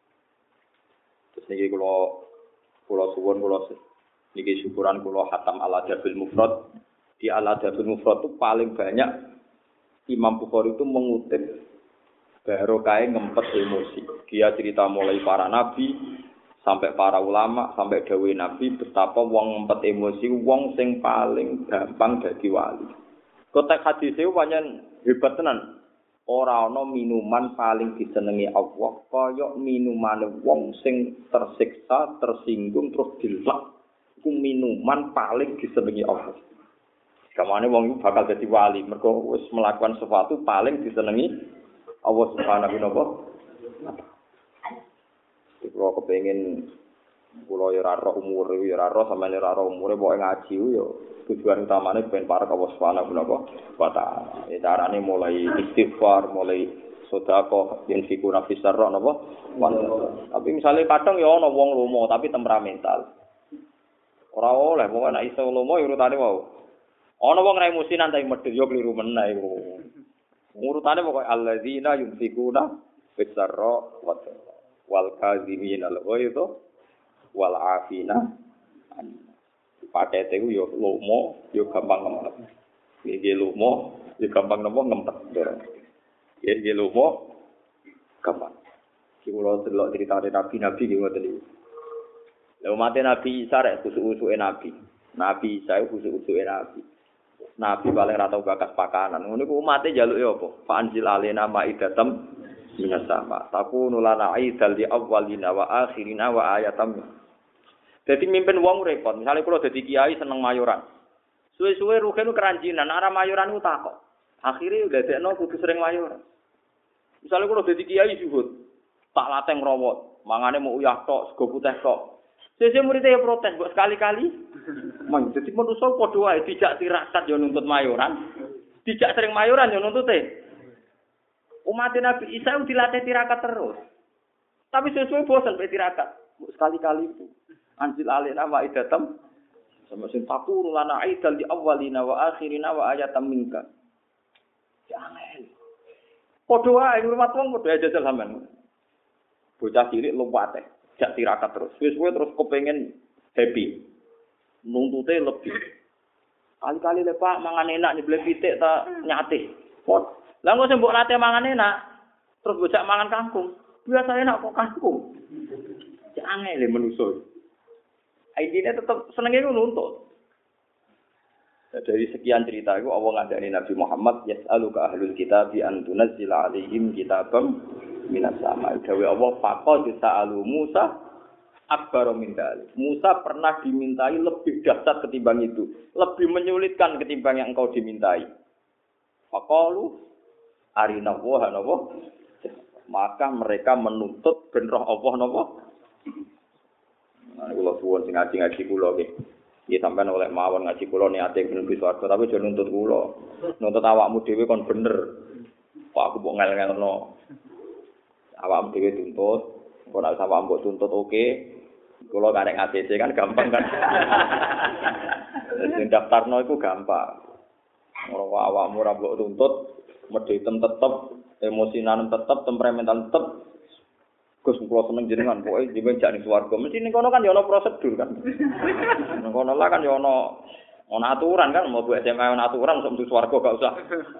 Terus niki kula kula suwun kula niki syukuran kula khatam al-Adabil Mufrad. Di al-Adabil Mufrad itu paling banyak Imam Bukhari itu mengutip barokah ngempet emosi. Dia cerita mulai para nabi sampai para ulama, sampai dawuh Nabi betapa wong ngempet emosi wong sing paling gampang dadi wali. Kotek hadis e pancen hebat tenan. Ora ana minuman paling disenengi Allah kaya minumane wong sing tersiksa, tersinggung terus dilak. Iku minuman paling disenengi Allah. Kamane wong iku bakal dadi wali mergo wis melakukan sesuatu paling disenengi Allah Subhanahu wa taala. Kalau kepengin kula ya ora roh umure ya ora roh sampeyan ora roh umure pokoke ngaji yo tujuan utamane ben para kawas subhanahu wa ta'ala. Ya carane mulai istighfar, mulai sedekah, yen fikuna fisarra napa? Tapi misale kadang ya ana wong lomo tapi temperamental. Ora oleh wong nek iso lomo urutane wae. Ana wong ra emosinan tapi medhit yo kliru meneh iku. Urutane pokoke alladzina yunfikuna fisarra wa wal kadzimin al ghaidha wal afina pakete ku yo lomo yo gampang ngempet iki lomo yo gampang nopo ngempet ya iki lomo gampang iki kula delok critane nabi-nabi ki ngoten iki lha mate nabi Isa rek kusuk-usuke nabi nabi Isa kusuk-usuke nabi nabi paling ra tau bakas pakanan ngono ku umate njaluk yo apa fa anzil alaina maidatam minas sama takunu lana aidal di awwalina wa akhirina wa ayatam. Dadi mimpin wong repot. Misale kula dadi kiai seneng mayoran. Suwe-suwe rugen keranjinan, arah mayoran ku takok. Akhire dadekno kudu sering mayoran. Misale kula dadi kiai zuhud, tak latih ngrawat, mangane mau uyah tok, sego putih tok. Sese muridé protes, kok sekali-kali. Mang dadi manusa padha wae dijak tirakat yo nuntut mayoran. Dijak sering mayoran yo nuntute. Umat Nabi Isa dilatih tirakat terus. Tapi sesuai bosan be tirakat. Sekali-kali itu. Anjil alina wa idatam sama sing takuru lana aidal di awalina wa akhirina wa ayatam minka. Jangan. Padha wae ngurmat wong padha jajal sampean. Bocah cilik luwate, jak tirakat terus. Wis-wis terus kepengin happy. Nuntute lebih. Kali-kali le Pak mangan enak nyebleh pitik ta nyate. Lah kok mbok nate mangan enak, terus bocah mangan kangkung. Biasa enak kok kangkung. Jangan le manusa. Aidine tetep senenge ku nuntut. Dari sekian cerita itu Allah ngandani Nabi Muhammad yas'aluka ahlul kitab an tunazzila alaihim kitabam minas sama. Dawe Allah faqad sa'alu Musa akbar min dzalik. Musa pernah dimintai lebih dahsyat ketimbang itu, lebih menyulitkan ketimbang yang engkau dimintai. Faqalu arina wa napa maka mereka menuntut ben roh Allah napa ana kula suwun sing ngaji-ngaji kula nggih nggih sampean oleh mawon ngaji kula niate ben swarga tapi aja nuntut kula nuntut awakmu dhewe kon bener kok aku mbok ngel-ngelno awakmu dhewe tuntut kok nek awakmu mbok tuntut oke kula karek A C C kan gampang kan sing daftarno iku gampang ora awakmu ora mbok tuntut medhitem tetep, emosinan tetep, temperamental tetep. Gus kula seneng jenengan, pokoke jenengan jak ning swarga. Mesti ning kono kan ya ana prosedur kan. Ning kono lah kan ya ana ana aturan kan, mau buat S M A ana aturan sok mlebu swarga gak usah.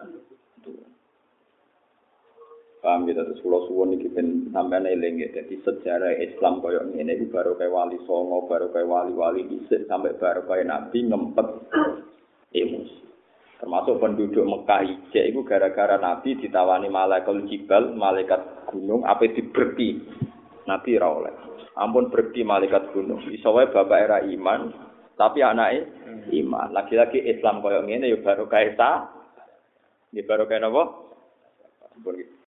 Paham gitu terus kula suwun iki ben sampeyan eling ya. Dadi sejarah Islam koyo ngene iki baru kaya wali songo, baru kaya wali-wali dhisik sampai baru kaya nabi ngempet emosi. Termasuk penduduk Mekah ijek itu gara-gara Nabi ditawani malaikat jibal, malaikat gunung, apa diberti. Nabi ra oleh. Ampun berti malaikat gunung. Iso wae bapak era iman, tapi anake iman. Lagi-lagi Islam koyo ngene ya baru kae sa. Nggih baru kae napa? Ampun